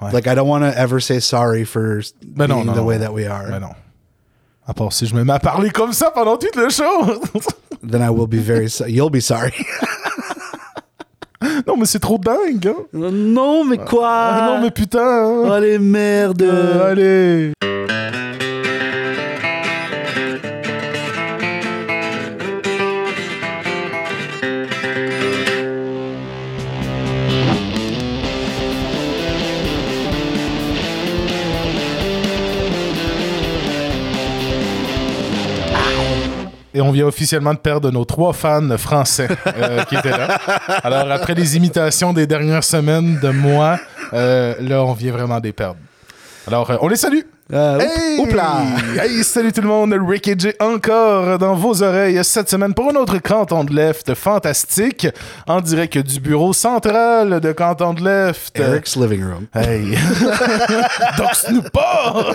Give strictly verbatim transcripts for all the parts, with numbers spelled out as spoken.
Ouais. Like, I don't want to ever say sorry for Ben being non, non, the way non. that we are. Ben non. À part si je me mets à parler comme ça pendant tout le show. Then I will be very so- You'll be sorry. Non, mais c'est trop dingue, hein? Non, mais quoi? Ah, non, mais putain! Hein? Oh, les merdes! Euh, allez! Et on vient officiellement de perdre nos trois fans français euh, qui étaient là. Alors, après les imitations des dernières semaines de moi, euh, là, on vient vraiment de les perdre. Alors, euh, on les salue! Euh, Hey! oup- Oupla! Hey, salut tout le monde! Ricky J encore dans vos oreilles cette semaine pour un autre Canton de Left fantastique en direct du bureau central de Canton de Left. Eric's living room. Hey! Dox-nous pas!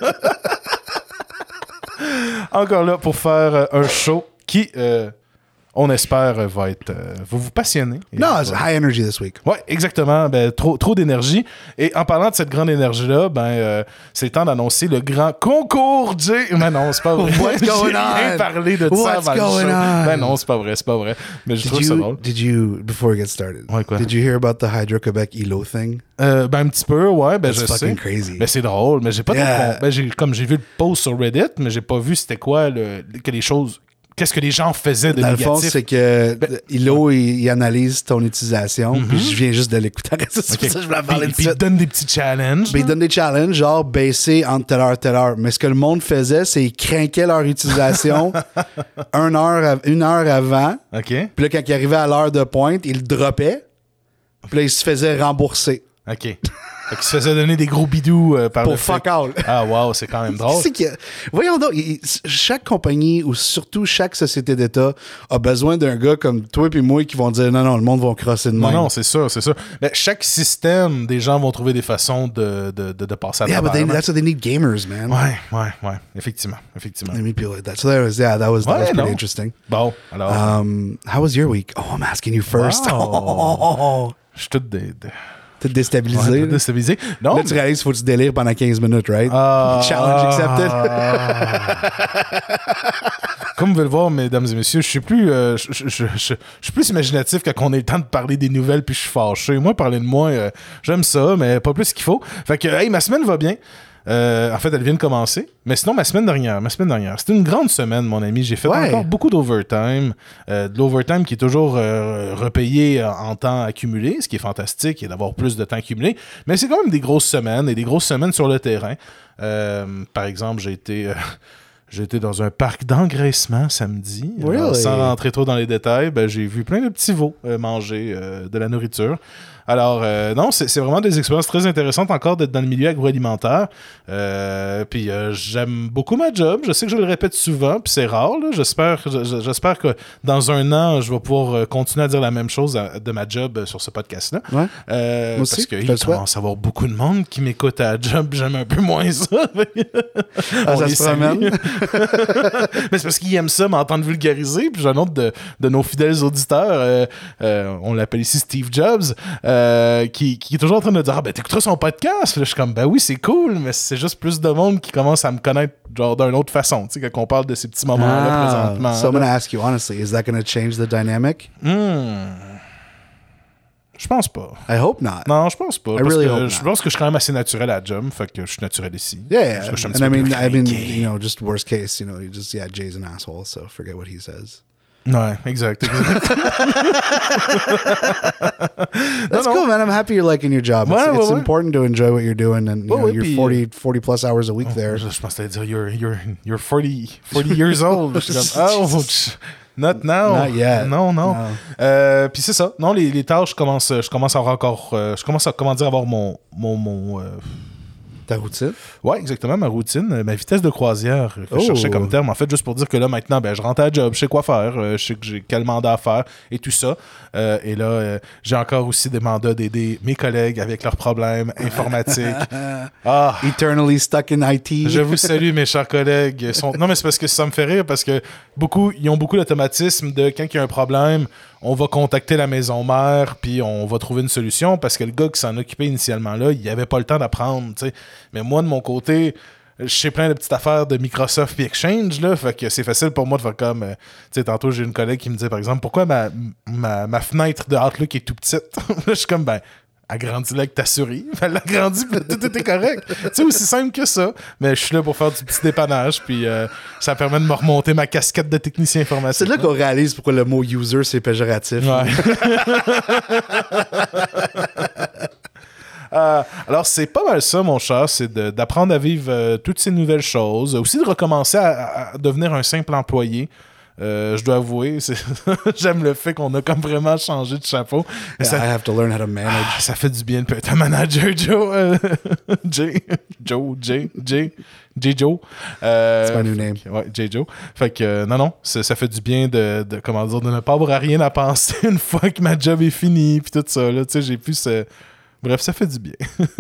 Encore là pour faire euh, un show qui, euh, on espère, euh, va être... Euh, va vous passionner. Et No, va- it's high energy this week. Ouais, exactement. Ben, trop, trop d'énergie. Et en parlant de cette grande énergie-là, ben, euh, c'est le temps d'annoncer le grand concours J. Mais non, c'est pas vrai. What's J'ai going rien on? parlé de ça What's avant le going show. on? Ben non, c'est pas vrai, c'est pas vrai. Mais je Did trouve ça you, drôle. did you, before we get started, Ouais, quoi? did you hear about the Hydro-Québec E L O thing? Euh, ben un petit peu, ouais, ben That's je fucking sais. crazy. Ben c'est drôle, mais j'ai pas Yeah. trop con- ben, j'ai, comme j'ai vu le post sur Reddit, mais j'ai pas vu c'était quoi le, que les choses... Qu'est-ce que les gens faisaient de Dans le fond, négatif. c'est que E L O, il, il analyse ton utilisation, puis je viens juste de l'écouter. C'est Ok. pour ça que je voulais en parler Puis, de puis il suite. te donne des petits challenges. Puis il là. donne des challenges, genre baisser entre telle heure et telle heure. Mais ce que le monde faisait, c'est qu'ils craquaient leur utilisation une heure, av- une heure avant. OK. Puis là, quand ils arrivaient à l'heure de pointe, ils le droppaient. Puis là, ils se faisaient rembourser. OK. Fait qu'il se faisait donner des gros bidous euh, par Pour le fait- fuck all. Ah, wow, c'est quand même drôle. C'est que, voyons donc, il- chaque compagnie ou surtout chaque société d'État a besoin d'un gars comme toi et moi qui vont dire non, non, le monde va crosser de Non, même. non, c'est ça, c'est ça. Mais chaque système, des gens vont trouver des façons de, de, de, de passer à Yeah, but travers. they, that's what they need gamers, man. Ouais, ouais, ouais. Effectivement, effectivement. They need people like that. So that was, yeah, that was, that Ouais, was pretty non. interesting. Bon, alors, Um, how was your week? Oh, I'm asking you first. Wow. je suis tout dé... de... T'es ouais, déstabilisé. tout là. déstabilisé. Non, Là, tu réalises qu'il faut que tu délires pendant quinze minutes, right? Ah, Challenge accepted. ah. Comme vous pouvez le voir, mesdames et messieurs, je suis plus, euh, je, je, je, je, je suis plus imaginatif quand on a le temps de parler des nouvelles puis je suis fâché. Moi, parler de moi, euh, j'aime ça, mais pas plus qu'il faut. Fait que, hey, ma semaine va bien. Euh, en fait, elle vient de commencer. Mais sinon, ma semaine dernière, ma semaine dernière, c'était une grande semaine, mon ami. J'ai fait Ouais. encore beaucoup d'overtime. Euh, de l'overtime qui est toujours euh, repayé en, en temps accumulé, ce qui est fantastique, et d'avoir plus de temps accumulé. Mais c'est quand même des grosses semaines, et des grosses semaines sur le terrain. Euh, par exemple, j'ai été... euh, J'ai été dans un parc d'engraissement samedi. Really? Alors, sans rentrer trop dans les détails, ben, j'ai vu plein de petits veaux euh, manger euh, de la nourriture. Alors, euh, non, c'est, c'est vraiment des expériences très intéressantes encore d'être dans le milieu agroalimentaire. Euh, puis euh, j'aime beaucoup ma job. Je sais que je le répète souvent, puis c'est rare. Là. J'espère, je- j'espère que dans un an, je vais pouvoir euh, continuer à dire la même chose à- de ma job euh, sur ce podcast-là. Ouais. Euh, Moi aussi, parce je qu'il te le souhaite. commence à avoir beaucoup de monde qui m'écoute à la job. J'aime un peu moins ça. Ah, On ça les se salue. promène. Mais c'est parce qu'ils aiment ça, m'entendre vulgariser. Puis j'ai un autre de, de nos fidèles auditeurs, euh, euh, on l'appelle ici Steve Jobs, euh, qui, qui est toujours en train de dire ah, ben t'écouteras son podcast. Puis là, je suis comme ben oui, c'est cool, mais c'est juste plus de monde qui commence à me connaître genre d'une autre façon. Tu sais, quand on parle de ces petits moments-là Ah, présentement. so I'm là. going to ask you honestly, is that going to change the dynamic? Hmm. Je pense pas. I hope not. Non, je pense pas. I Parce really que hope je not. pense que je suis quand même assez naturel à la job. Fait que je suis naturel ici. Yeah, Parce que je suis un and petit I peu mean, plus I mean, craqué. you know, just worst case, you know, you just yeah, Jay's an asshole, so forget what he says. Ouais, exact. exact. That's non. cool, man. I'm happy you're liking your job. It's, Ouais, ouais, it's ouais. important to enjoy what you're doing, and you Ouais, know, ouais, you're puis- forty, forty plus hours a week there. Je, je pensais dire you're, you're, you're forty, forty years old. Je suis comme, oh, tch, not now. Not yet. Non, non. No. Euh, Puis c'est ça. Non, les, les tâches, je commence, je commence à avoir encore. euh, je commence à comment dire, avoir mon. mon, mon euh, Ta routine? Ouais, exactement, ma routine, euh, ma vitesse de croisière que Oh. je cherchais comme terme. En fait, juste pour dire que là, maintenant, ben, je rentre à la job, je sais quoi faire, euh, je sais que j'ai quel mandat à faire et tout ça. Euh, et là, euh, j'ai encore aussi des mandats d'aider mes collègues avec leurs problèmes informatiques. Ah! Eternally stuck in I T. Je vous salue, mes chers collègues. Ils sont... Non, mais c'est parce que ça me fait rire, parce que beaucoup, ils ont beaucoup l'automatisme de quand il y a un problème, on va contacter la maison mère, puis on va trouver une solution, parce que le gars qui s'en occupait initialement là, il avait pas le temps d'apprendre, tu sais. Mais moi, de mon côté, je sais plein de petites affaires de Microsoft puis Exchange, là, fait que c'est facile pour moi de faire comme... euh, tu sais, tantôt, j'ai une collègue qui me disait, par exemple, pourquoi ma, ma, ma fenêtre de Outlook est tout petite? Je suis comme, ben... agrandis-la avec ta souris. Elle l'agrandit, puis tout était correct. Tu sais, aussi simple que ça. Mais je suis là pour faire du petit dépannage, puis euh, ça permet de me remonter ma casquette de technicien informatique. C'est là qu'on réalise pourquoi le mot user, c'est péjoratif. Ouais. Euh, alors, c'est pas mal ça, mon cher, c'est de, d'apprendre à vivre euh, toutes ces nouvelles choses. Aussi de recommencer à, à devenir un simple employé. Euh, je dois avouer, c'est... j'aime le fait qu'on a comme vraiment changé de chapeau. Yeah, ça... I have to learn how to manage. Ah, ça fait du bien de être un manager, Joe. Euh, J. Joe, J. J. J. Joe. Euh, It's my new name. Ouais, J. Joe. Fait que, euh, non, non, ça, ça fait du bien de, de, comment dire, de ne pas avoir à rien à penser une fois que ma job est finie, puis tout ça, là. Tu sais, j'ai pu ce... Bref, ça fait du bien.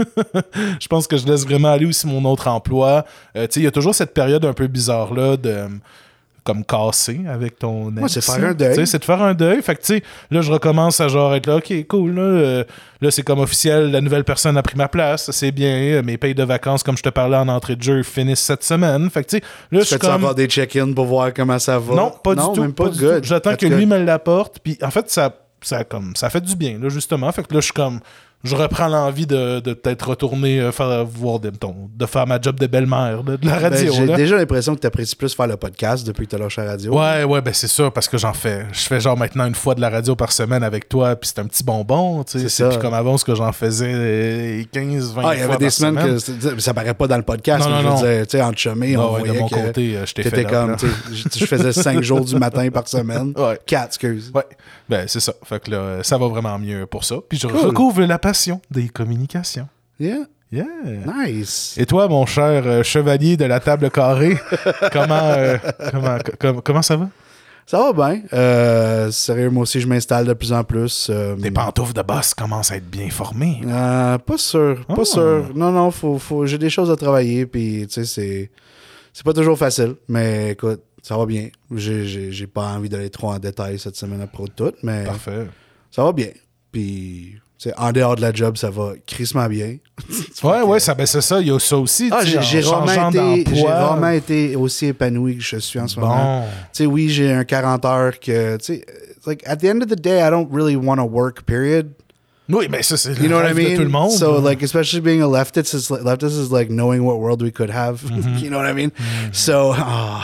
Je pense que je laisse vraiment aller aussi mon autre emploi. Euh, tu sais, il y a toujours cette période un peu bizarre-là de... comme casser avec ton ex. Ouais, c'est faire un deuil. T'sais, c'est de faire un deuil. Fait que, tu sais, là, je recommence à genre être là, OK, cool, là, euh, là, c'est comme officiel, la nouvelle personne a pris ma place, c'est bien, mes payes de vacances, comme je te parlais en entrée de jeu, finissent cette semaine. Fait que, tu sais, là, je suis Fais-tu comme... avoir des check-ins pour voir comment ça va? Non, pas non, du tout. même pas, pas du good. tout. J'attends That's que good. lui me l'apporte, puis en fait, ça, ça, comme, ça fait du bien, là, justement. Fait que là, je suis comme... Je reprends l'envie de, de peut-être retourner euh, faire, voir de, de faire ma job de belle-mère, de, de la radio. Ben, j'ai là. déjà l'impression que tu apprécies plus faire le podcast depuis que tu as lâché la radio. Ouais, ouais, ben c'est sûr, parce que j'en fais. Je fais genre maintenant une fois de la radio par semaine avec toi, puis c'est un petit bonbon, tu sais. C'est C'est ça. plus comme avant, ce que j'en faisais quinze, vingt Ah, il y avait fois des par semaines semaine. que c'était- ça paraît pas dans le podcast, Non, mais non, je non. veux dire, tu sais, en chumé, Ah on ouais, voyait de mon que côté, euh, je t'ai fait t'étais là, comme, là. tu sais, je je faisais cinq jours du matin par semaine. Ouais. Quatre, excuse. Ouais, ben c'est ça. Fait que là, ça va vraiment mieux pour ça. Puis je Cool. recouvre la passion des communications. Yeah, Yeah. nice. Et toi, mon cher euh, chevalier de la table carrée, comment, euh, comment, com- comment ça va? Ça va bien. Euh, sérieux, moi aussi, je m'installe de plus en plus. Euh, Tes pantoufles de boss commencent à être bien formées. euh, pas sûr, pas Ah. sûr. Non, non, faut, faut, j'ai des choses à travailler, puis tu sais, c'est, c'est pas toujours facile, mais écoute, ça va bien. J'ai, j'ai, j'ai pas envie d'aller trop en détail cette semaine à propos de tout, mais Parfait. ça va bien. Puis, tu sais, en dehors de la job, ça va crissement bien. Ouais, ouais, ça, ben c'est ça, il y a ça aussi. Ah, tu sais, j'ai, j'ai, en changeant rarement été, j'ai d'emploi. rarement été aussi épanoui que je suis en ce moment. Bon. Tu sais, oui, j'ai un quarante heures que, tu sais, it's like, at the end of the day, I don't really want to work, period. Oui, mais ça, c'est You le know what I rêve de mean? tout le monde. So, like, especially being a leftist, is like, leftist is like knowing what world we could have. You know what I mean? So, ah.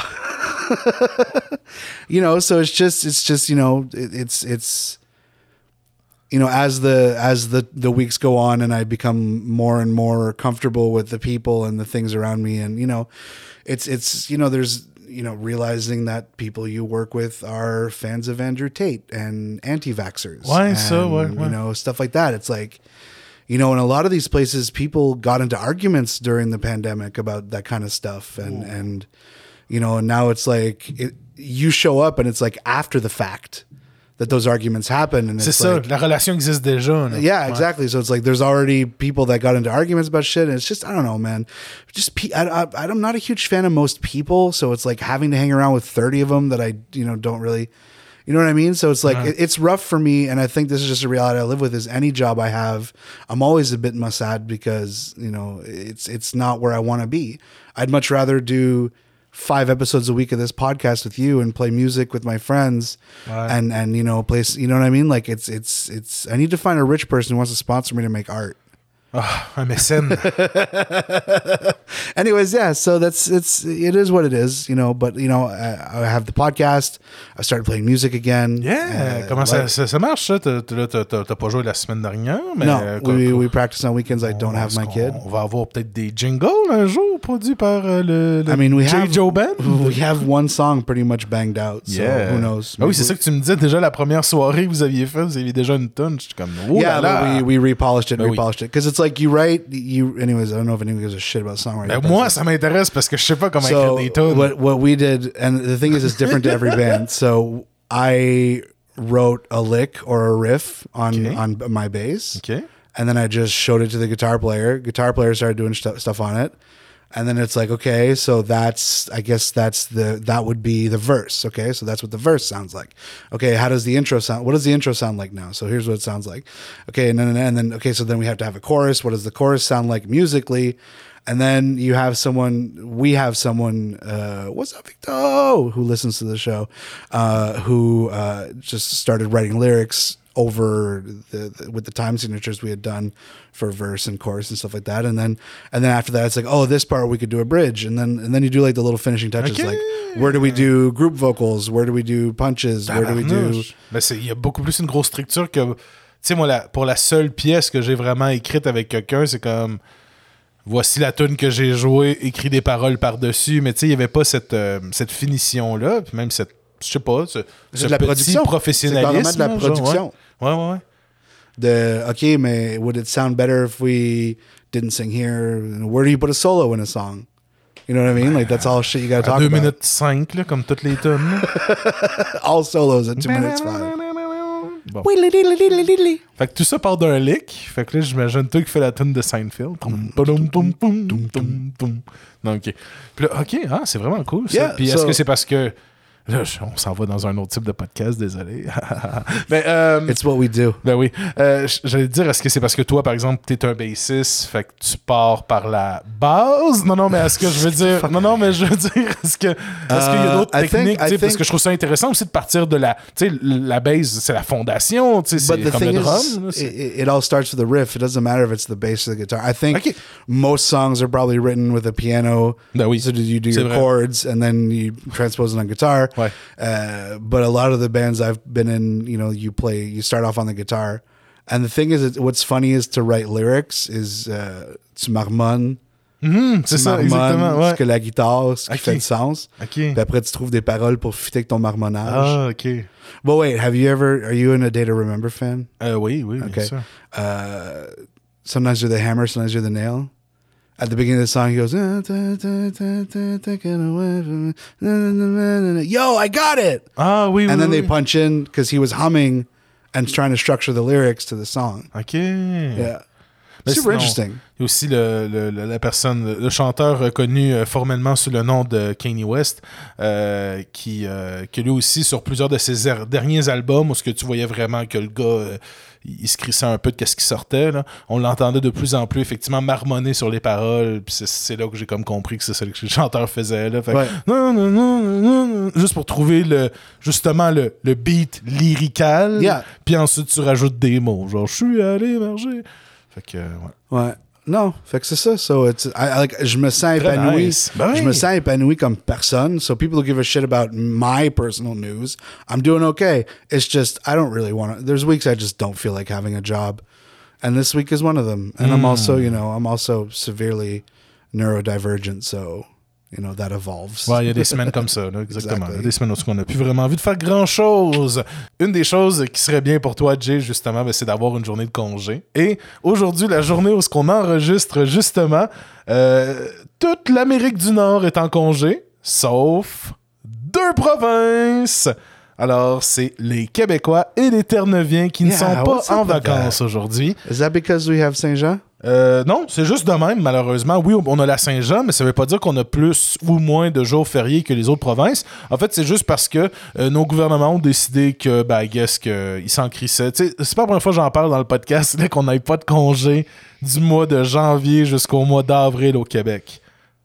you know, so it's just, it's just, you know, it, it's, it's, you know, as the as the the weeks go on and I become more and more comfortable with the people and the things around me, and you know, it's it's you know, there's you know, realizing that people you work with are fans of Andrew Tate and anti-vaxxers. Ouais, and, ça, ouais, ouais. You know, stuff like that. It's like, you know, in a lot of these places, people got into arguments during the pandemic about that kind of stuff, and Ooh. and you know, and now it's like it, you show up and it's like after the fact that those arguments happen, and C'est it's ça, like, la relation existe déjà. là. yeah, Ouais. exactly. So it's like there's already people that got into arguments about shit, and it's just I don't know, man. Just pe- I, I, I'm not a huge fan of most people, so it's like having to hang around with thirty of them that I you know don't really, you know what I mean. So it's like Uh-huh. it, it's rough for me, and I think this is just a reality I live with. Is any job I have, I'm always a bit sad because you know it's it's not where I want to be. I'd much rather do five episodes a week of this podcast with you and play music with my friends Right. and and you know place you know what I mean, like it's it's it's I need to find a rich person who wants to sponsor me to make art. Ah, un mécène. Anyways, yeah, so that's it's it is what it is, you know, but you know I, I have the podcast, I started playing music again. Yeah, Uh, comment ça, like- ça, ça marche, ça? T'as, t'as, t'as, t'as pas joué la semaine dernière, mais... no, euh, we, quoi- we practice on weekends. I don't have est-ce my qu'on- kid. On va avoir peut-être des jingles un jour produits par euh, le, le I mean, we J. have Joe Band. we have one song pretty much banged out. So Yeah. who knows? Ah oui, c'est ça que tu me disais déjà la première soirée que vous aviez fait, vous aviez déjà une tonne. Je suis comme, oh Yeah, là là. but we we repolished it, Ben oui. repolished it because it's it's like you write you. Anyways, I don't know if anyone gives a shit about songwriting. Ben, moi, ça m'intéresse parce que je sais pas comment so écrire des tunes. what what we did, and the thing is, it's different to every band. So I wrote a lick or a riff on Okay. on my bass, Okay. and then I just showed it to the guitar player. Guitar player started doing stu- stuff on it. And then it's like, okay, so that's, I guess that's the, that would be the verse. Okay. So that's what the verse sounds like. Okay. How does the intro sound? What does the intro sound like now? So here's what it sounds like. Okay. And then, and then, okay. So then we have to have a chorus. What does the chorus sound like musically? And then you have someone, we have someone, uh, what's up, Victor, who listens to the show, uh, who, uh, just started writing lyrics over the, the with the time signatures we had done for verse and chorus and stuff like that, and then and then after that it's like, oh, this part we could do a bridge, and then and then you do like the little finishing touches, Okay. like where do we do group vocals, where do we do punches, where do we do Tabarnouche. Ben, c'est- il y a beaucoup plus une grosse structure que. Tu sais, moi, la- pour la seule pièce que j'ai vraiment écrite avec quelqu'un, c'est comme. Voici la tune que j'ai jouée, écrit des paroles par-dessus, mais tu sais, il n'y avait pas cette, euh, cette finition-là, puis même cette. Je sais pas, ce, C'est ce de la petit production. professionnalisme. C'est carrément de la là, genre, production. Ouais, ouais, ouais. ouais. the okay, mais would it sound better if we didn't sing here? Where do you put a solo in a song? You know what I mean? Like that's all shit you gotta À talk deux about. minutes cinq, là, comme toutes les tunes. All solos at two minutes five. Bon. Fait que tout ça part d'un lick. Fait que là, j'imagine toi qui fais la tune de Seinfeld. Toum, toum, toum, toum, toum, toum. Non, ok. Puis là, ok, ah, c'est vraiment cool ça. Yeah, Puis est-ce so- que c'est parce que. Là, je- on s'en va dans un autre type de podcast, désolé. Mais, euh, It's what we do. ben oui. Euh, j- J'allais te dire, est-ce que c'est parce que toi, par exemple, t'es un bassiste, fait que tu pars par la base? Non, non, mais est-ce que je veux dire... Non, non, mais je veux dire, est-ce que est-ce qu'il y a d'autres Uh, I think- techniques? tu sais, I Parce think- que je trouve ça intéressant aussi de partir de la... Tu sais, la base, c'est la fondation, tu sais, But c'est the comme le thing drum. is, là, c'est- it, it all starts with the riff. It doesn't matter if it's the bass or the guitar. I think Okay. most songs are probably written with a piano. Ben oui, So you do c'est your vrai. chords and then you transpose it on guitar. Ouais. Uh, but a lot of the bands I've been in, you know, you play, you start off on the guitar. And the thing is, it, what's funny is to write lyrics is uh, tu marmonnes. Mhm, c'est Tu ça, marmonnes exactement. ce Ouais. que la guitare, ce qui Ok. fait du sens. OK. Puis après, tu trouves des paroles pour fitter avec ton marmonnage. Ah, OK. But wait, have you ever, are you in a Day to Remember fan? Euh, oui, oui, bien Okay. sûr. Uh, sometimes you're the hammer, sometimes you're the nail. At the beginning of the song, he goes, "Ah, ta, ta, ta, ta, taken away from me. Na, na, na, na, na." Yo, I got it. Ah, oui, oui, And then oui. they punch in because he was humming and trying to structure the lyrics to the song. OK. Yeah. Mais Super sinon, interesting. Il y a aussi le, le- le- la personne, le, le chanteur reconnu euh, formellement sous le nom de Kanye West, euh, qui, euh, qui lui aussi, sur plusieurs de ses er- derniers albums, où ce que tu voyais vraiment que le gars, euh, il il se crissait un peu de ce qui sortait, là. On l'entendait de plus en plus, effectivement, marmonner sur les paroles, puis c'est, c'est là que j'ai comme compris que c'est ça que le chanteur faisait, là. Fait que, Ouais. non, non, non, non, non, juste pour trouver le, justement le, le beat lyrical, Yeah. puis ensuite tu rajoutes des mots, genre « je suis allé marcher ». Fait que, ouais. Ouais. Non, fait que c'est ça. So it's, I, I like, je me sens Très épanoui. nice. Ben oui. Je me sens épanoui comme personne. So people who give a shit about my personal news, I'm doing okay. It's just, I don't really want to, there's weeks I just don't feel like having a job. And this week is one of them. And I'm also, you know, I'm also severely neurodivergent. So, you know, that evolves. Ouais, il y a des semaines comme ça, là, exactement. Exactly. Il y a des semaines où on n'a plus vraiment envie de faire grand-chose. Une des choses qui serait bien pour toi, Jay, justement, ben, c'est d'avoir une journée de congé. Et aujourd'hui, la journée où ce qu'on enregistre, justement, euh, toute l'Amérique du Nord est en congé, sauf deux provinces. Alors, c'est les Québécois et les Terre-Neuviens qui ne Yeah, sont pas what's up en with vacances aujourd'hui. Is that because we have Saint-Jean? Euh, non, c'est juste de même, malheureusement. Oui, on a la Saint-Jean, mais ça veut pas dire qu'on a plus ou moins de jours fériés que les autres provinces. En fait, c'est juste parce que euh, nos gouvernements ont décidé que, ben, I guess qu'ils s'en crissaient. Tu sais, c'est pas la première fois que j'en parle dans le podcast, là, qu'on n'ait pas de congé du mois de janvier jusqu'au mois d'avril au Québec.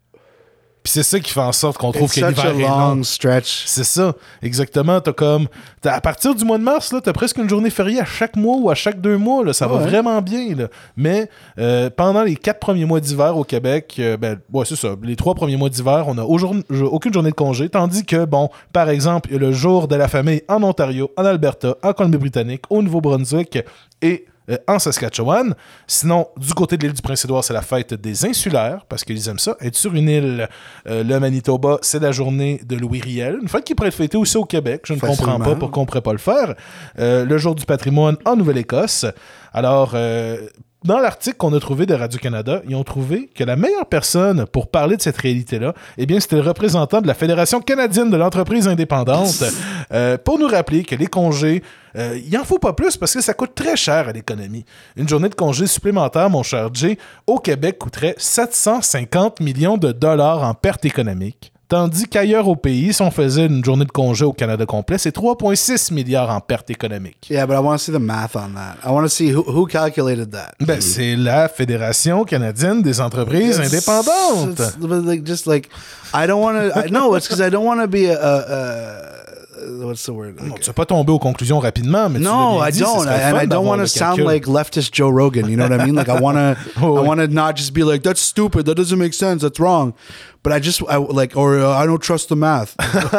Puis c'est ça qui fait en sorte qu'on trouve It's que such l'hiver a est long long. stretch. C'est ça, exactement. T'as comme, t'as- à partir du mois de mars, là, t'as presque une journée fériée à chaque mois ou à chaque deux mois. Là, ça va Ouais. vraiment bien. Là. Mais euh, pendant les quatre premiers mois d'hiver au Québec, euh, ben, ouais, c'est ça. Les trois premiers mois d'hiver, on n'a aucune journée de congé. Tandis que, bon, par exemple, il y a le jour de la famille en Ontario, en Alberta, en Colombie-Britannique, au Nouveau-Brunswick et euh, en Saskatchewan. Sinon, du côté de l'île du Prince-Édouard, c'est la fête des insulaires, parce qu'ils aiment ça, être sur une île. Euh, le Manitoba, c'est la journée de Louis Riel, une fête qui pourrait être fêtée aussi au Québec. Je ne Facilement. comprends pas pourquoi on ne pourrait pas le faire. Euh, le jour du patrimoine en Nouvelle-Écosse. Alors, euh, dans l'article qu'on a trouvé de Radio-Canada, ils ont trouvé que la meilleure personne pour parler de cette réalité-là, eh bien, c'était le représentant de la Fédération canadienne de l'entreprise indépendante euh, pour nous rappeler que les congés, euh, il en faut pas plus parce que ça coûte très cher à l'économie. Une journée de congé supplémentaire, mon cher Jay, au Québec coûterait sept cent cinquante millions de dollars en pertes économiques. Tandis qu'ailleurs au pays, si on faisait une journée de congé au Canada complet, c'est trois virgule six milliards en pertes économiques. Yeah, but I want to see the math on that. I want to see who, who calculated that. Ben, c'est la Fédération canadienne des entreprises It's- indépendantes. it's- but like, just like, I don't want to. No, it's because I don't want to be a. a, a what's the word? Bon, tu vas pas tomber aux conclusions rapidement, mais No, tu l'as bien I dit, ce don't, serait and fun I don't d'avoir want to le sound calcul. like leftist Joe Rogan. You know what I mean? Like I want to, Oh, I oui. want to not just be like that's stupid, that doesn't make sense, that's wrong. But I just, I like, or uh, I don't trust the math.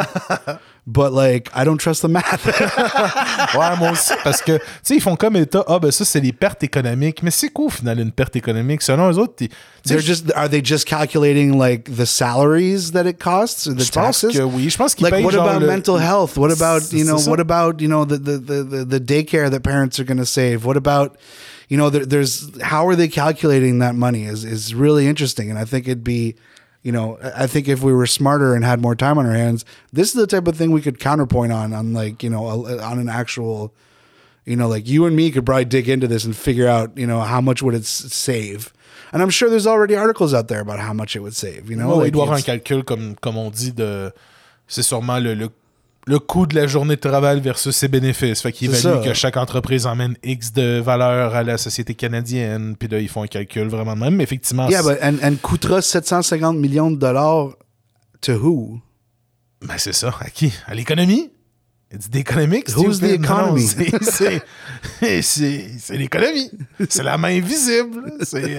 But like, I don't trust the math. Ouais, moi aussi, parce que, tu sais, ils font comme état, ah, ben ça, c'est les pertes économiques. Mais c'est quoi, au final, une perte économique? Selon eux autres, t'es- tu sais, They're just, are they just calculating like the salaries that it costs, or the je pense taxes? que oui. Je pense qu'ils Like, payent what genre about le- mental health? What about, C'est- you know, c'est ça. what about, you know, the, the, the, the, the daycare that parents are going to save? What about, you know, there, there's, how are they calculating that money is, is really interesting. And I think it'd be, you know, I I think if we were smarter and had more time on our hands, this is the type of thing we could counterpoint on, on like, you know, a, on an actual, you know, like you and me could probably dig into this and figure out, you know, how much would it s- save? And I'm sure there's already articles out there about how much it would save, you know? Ouais, Like, il doit y avoir un it's- calcul, comme, comme on dit, de. C'est sûrement le, le, le coût de la journée de travail versus ses bénéfices. Fait qu'ils C'est évaluent ça. que chaque entreprise emmène X de valeur à la société canadienne. Puis là, ils font un calcul vraiment de même. Mais effectivement, Yeah, c'est- but and, and coûtera sept cent cinquante millions de dollars to who? ben, c'est ça. À qui? À l'économie? It's the economics. Who's the stupid. Non, economy? c'est- c'est- c'est c'est l'économie. C'est la main visible. C'est.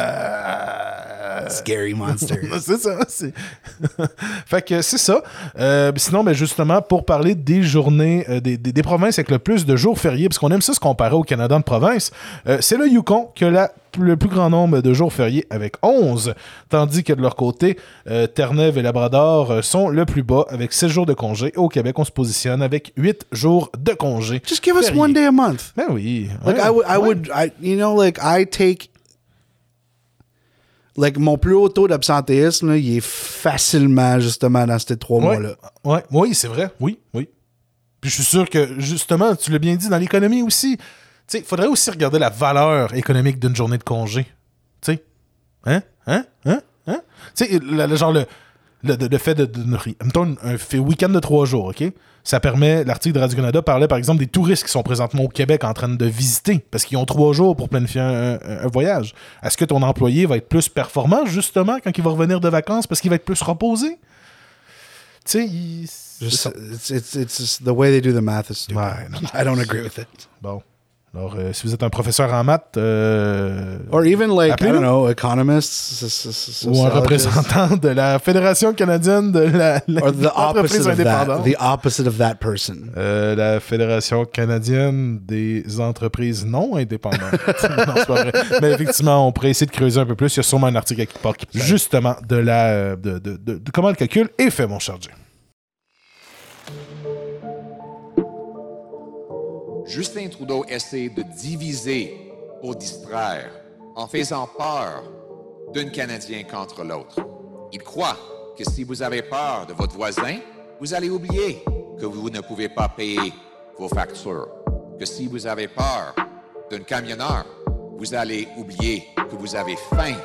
euh, Scary monster. C'est ça. c'est- fait que c'est ça. Euh, sinon, ben justement, pour parler des journées, euh, des, des, des provinces avec le plus de jours fériés, parce qu'on aime ça se comparer au Canada de province, euh, c'est le Yukon qui a la, le plus grand nombre de jours fériés avec onze, tandis que de leur côté, euh, Terre-Neuve et Labrador euh, sont le plus bas avec six jours de congé. Au Québec, on se positionne avec huit jours de congé. Just give us fériés. one day a month. Ben oui. Like Ouais, I would, I ouais. would, I, you know, like I take, like mon plus haut taux d'absentéisme, là, il est facilement justement dans ces trois Ouais, mois-là. ouais, oui, c'est vrai. Oui, oui. Puis je suis sûr que, justement, tu l'as bien dit, dans l'économie aussi, tu sais, il faudrait aussi regarder la valeur économique d'une journée de congé. Tu sais? Hein? Hein? Hein? Hein? Tu sais, le, le- genre le, le, le fait de... de, de mettons, un, un week-end de trois jours, OK? Ça permet... L'article de Radio-Canada parlait, par exemple, des touristes qui sont présentement au Québec en train de visiter parce qu'ils ont trois jours pour planifier un, un- un voyage. Est-ce que ton employé va être plus performant, justement, quand il va revenir de vacances parce qu'il va être plus reposé? Tu sais, il... c'est Just, ça. it's, it's, it's just the way they do the math is stupid. Ouais, non. I don't agree with it. Bon. Alors, euh, si vous êtes un professeur en maths euh, Or even like, I Appelez-nous. don't know, economists, s- s- ou un sociologists. représentant de la Fédération canadienne de la, la Or the l'entreprise opposite of that. indépendante. The opposite of that person. Euh, la Fédération canadienne des entreprises non indépendantes. Non, c'est pas vrai. Mais effectivement, on pourrait essayer de creuser un peu plus. Il y a sûrement un article à quelque part qui justement de la euh, de, de, de, de comment le calcul est fait, mon cher Jay. Justin Trudeau essaie de diviser pour distraire en faisant peur d'un Canadien contre l'autre. Il croit que si vous avez peur de votre voisin, vous allez oublier que vous ne pouvez pas payer vos factures. Que si vous avez peur d'un camionneur, vous allez oublier que vous avez faim.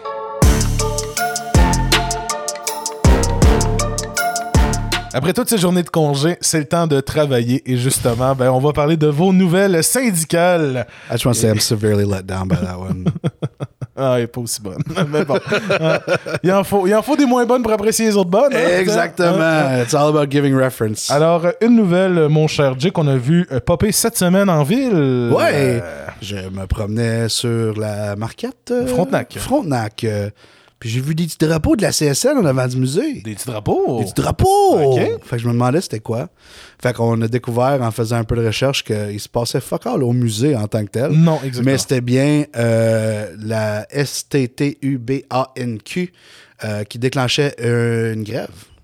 Après toutes ces journées de congé, c'est le temps de travailler et justement, ben, on va parler de vos nouvelles syndicales. I just want to say I'm severely let down by that one. Ah, elle est pas aussi bonne. Mais bon. Ah, il, en faut, il en faut des moins bonnes pour apprécier les autres bonnes. hein? Exactement. Ah, It's all about giving reference. ah. Alors, euh, une nouvelle, mon cher Jay, qu'on a vu euh, popper cette semaine en ville. Ouais. Euh, Je me promenais sur la marquette. euh, Frontenac. Frontenac. euh, puis j'ai vu des petits drapeaux de la C S N en avant du musée. des petits drapeaux. Des petits drapeaux! Ok. Fait que je me demandais c'était quoi. Fait qu'on a découvert en faisant un peu de recherche qu'il se passait fuck all au musée en tant que tel. Non, exactement. Mais c'était bien euh, la S T T U B A N Q euh, qui déclenchait euh, une grève.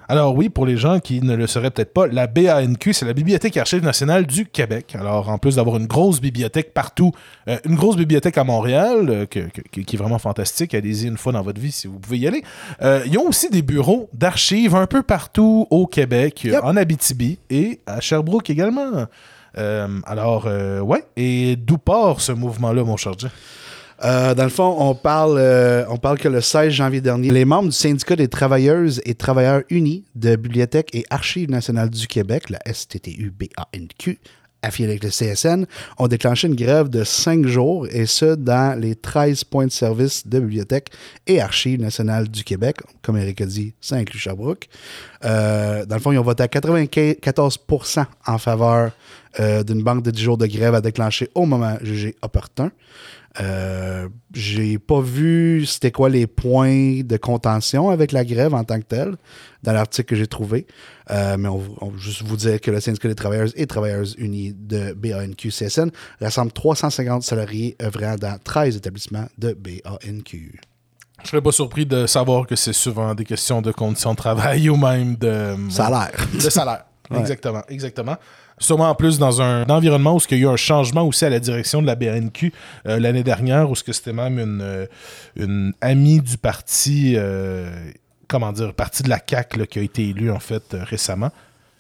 Alors oui, pour les gens qui ne le sauraient peut-être pas, la B A N Q, c'est la Bibliothèque Archives nationale du Québec. Alors en plus d'avoir une grosse bibliothèque partout, euh, une grosse bibliothèque à Montréal, euh, que, que, qui est vraiment fantastique, allez-y une fois dans votre vie si vous pouvez y aller. Euh, ils ont aussi des bureaux d'archives un peu partout au Québec, yep. en Abitibi et à Sherbrooke également. Euh, alors, euh, ouais, et d'où part ce mouvement-là, mon cher Jay? Euh, dans le fond, on parle, euh, on parle que le seize janvier dernier, les membres du syndicat des travailleuses et travailleurs unis de Bibliothèque et Archives nationales du Québec, la S T T U B A N Q, affiliée avec le C S N, ont déclenché une grève de cinq jours, et ce, dans les treize points de service de Bibliothèque et Archives nationales du Québec. Comme Eric a dit, ça inclut Sherbrooke. Euh, dans le fond, ils ont voté à quatre-vingt-quatorze pour cent en faveur euh, d'une banque de dix jours de grève à déclencher au moment jugé opportun. Euh, j'ai pas vu c'était quoi les points de contention avec la grève en tant que telle dans l'article que j'ai trouvé, euh, mais on, on va juste vous dire que le syndicat des travailleurs et travailleuses unis de B A N Q C S N rassemble trois cent cinquante salariés œuvrant dans treize établissements de B A N Q. Je serais pas surpris de savoir que c'est souvent des questions de conditions de travail ou même de salaire. De salaire. Ouais. Exactement, exactement. Sûrement en plus dans un environnement où il y a eu un changement aussi à la direction de la B A N Q euh, l'année dernière, où c'était même une, euh, une amie du parti, euh, comment dire, parti de la C A Q là, qui a été élue en fait euh, récemment.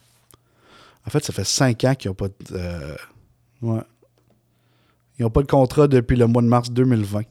En fait, ça fait cinq ans qu'ils n'ont pas de... Euh, ouais. Ils n'ont pas de contrat depuis le mois de mars deux mille vingt. Ils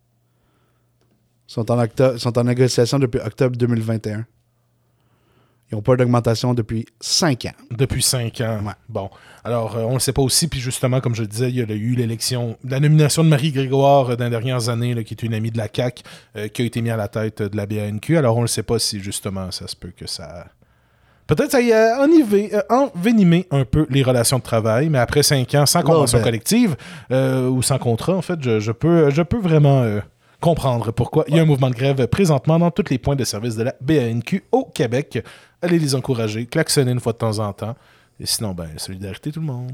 sont en, octobre, sont en négociation depuis octobre deux mille vingt et un. Ils n'ont pas d'augmentation depuis cinq ans. Depuis cinq ans. Ouais. Bon. Alors, euh, on ne le sait pas aussi. Puis justement, comme je le disais, il y a eu l'élection, la nomination de Marie Grégoire euh, dans les dernières années, là, qui est une amie de la C A Q, euh, qui a été mise à la tête de la B A N Q. Alors, on ne le sait pas si justement, ça se peut que ça... Peut-être ça y a ennivé, euh, envenimé un peu les relations de travail, mais après cinq ans, sans convention collective, euh, ou sans contrat, en fait, je, je, peux, je peux vraiment... Euh, comprendre pourquoi il y a un mouvement de grève présentement dans tous les points de service de la B A N Q au Québec. Allez les encourager, klaxonner une fois de temps en temps. Et sinon, ben, solidarité tout le monde.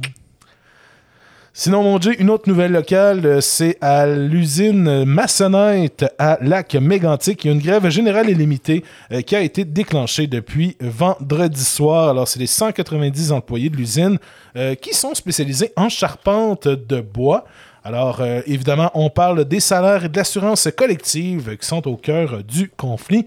Sinon, mon Dieu, une autre nouvelle locale, c'est à l'usine Massonite à Lac-Mégantic. Il y a une grève générale et limitée euh, qui a été déclenchée depuis vendredi soir. Alors, c'est les cent quatre-vingt-dix employés de l'usine euh, qui sont spécialisés en charpente de bois. Alors, euh, évidemment, on parle des salaires et de l'assurance collective qui sont au cœur du conflit.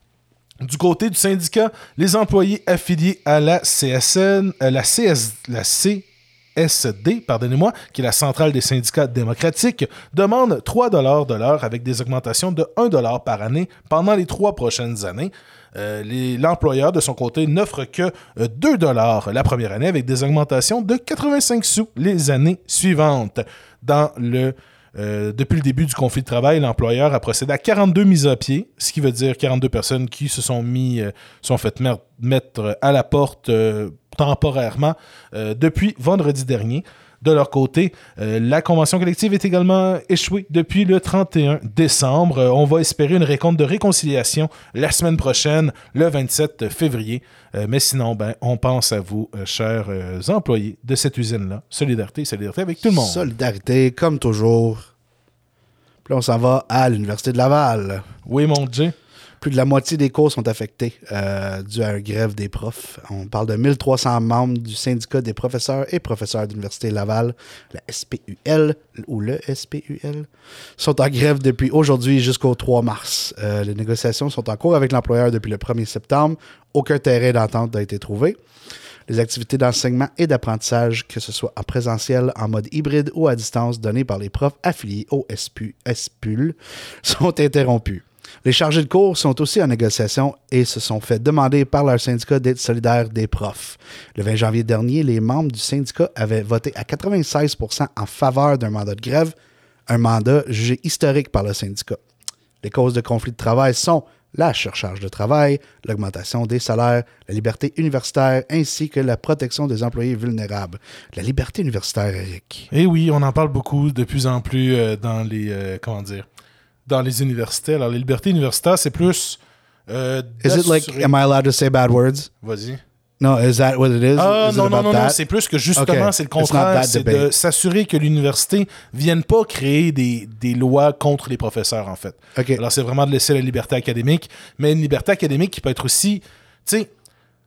Du côté du syndicat, les employés affiliés à la C S N, euh, la, C S, la C S D, pardonnez-moi, qui est la centrale des syndicats démocratiques, demandent trois dollars de l'heure avec des augmentations de un dollar par année pendant les trois prochaines années. Euh, les, l'employeur, de son côté, n'offre que euh, deux dollars la première année avec des augmentations de quatre-vingt-cinq sous les années suivantes. Dans le, euh, depuis le début du conflit de travail, l'employeur a procédé à quarante-deux mises à pied, ce qui veut dire quarante-deux personnes qui se sont mis, euh, sont faites mer- mettre à la porte euh, temporairement euh, depuis vendredi dernier. De leur côté, euh, la convention collective est également échouée depuis le trente et un décembre. Euh, on va espérer une récompte de réconciliation la semaine prochaine, le vingt-sept février. Euh, mais sinon, ben, on pense à vous, euh, chers euh, employés de cette usine-là. Solidarité, solidarité avec tout le monde. Solidarité, comme toujours. Puis là, on s'en va à l'Université de Laval. Oui, mon Dieu. Plus de la moitié des cours sont affectés euh, dû à la grève des profs. On parle de mille trois cents membres du syndicat des professeurs et professeurs de l'Université Laval, la S P U L, ou le S P U L, sont en grève depuis aujourd'hui jusqu'au trois mars. Euh, les négociations sont en cours avec l'employeur depuis le premier septembre. Aucun terrain d'entente n'a été trouvé. Les activités d'enseignement et d'apprentissage, que ce soit en présentiel, en mode hybride ou à distance, données par les profs affiliés au S P U L, sont interrompues. Les chargés de cours sont aussi en négociation et se sont fait demander par leur syndicat d'être solidaires des profs. Le vingt janvier dernier, les membres du syndicat avaient voté à quatre-vingt-seize pour cent en faveur d'un mandat de grève, un mandat jugé historique par le syndicat. Les causes de conflit de travail sont la surcharge de travail, l'augmentation des salaires, la liberté universitaire ainsi que la protection des employés vulnérables. La liberté universitaire, Eric. Eh oui, on en parle beaucoup de plus en plus euh, dans les... Euh, comment dire dans les universités. Alors, les libertés universitaires, c'est plus... Euh, is it like, am I allowed to say bad words? Vas-y. No, is that what it is? Ah, is non, it non, non, that? non, c'est plus que justement, okay. c'est le contraire. C'est debate. de s'assurer que l'université ne vienne pas créer des, des lois contre les professeurs, en fait. Okay. Alors, c'est vraiment de laisser la liberté académique, mais une liberté académique qui peut être aussi... Tu sais,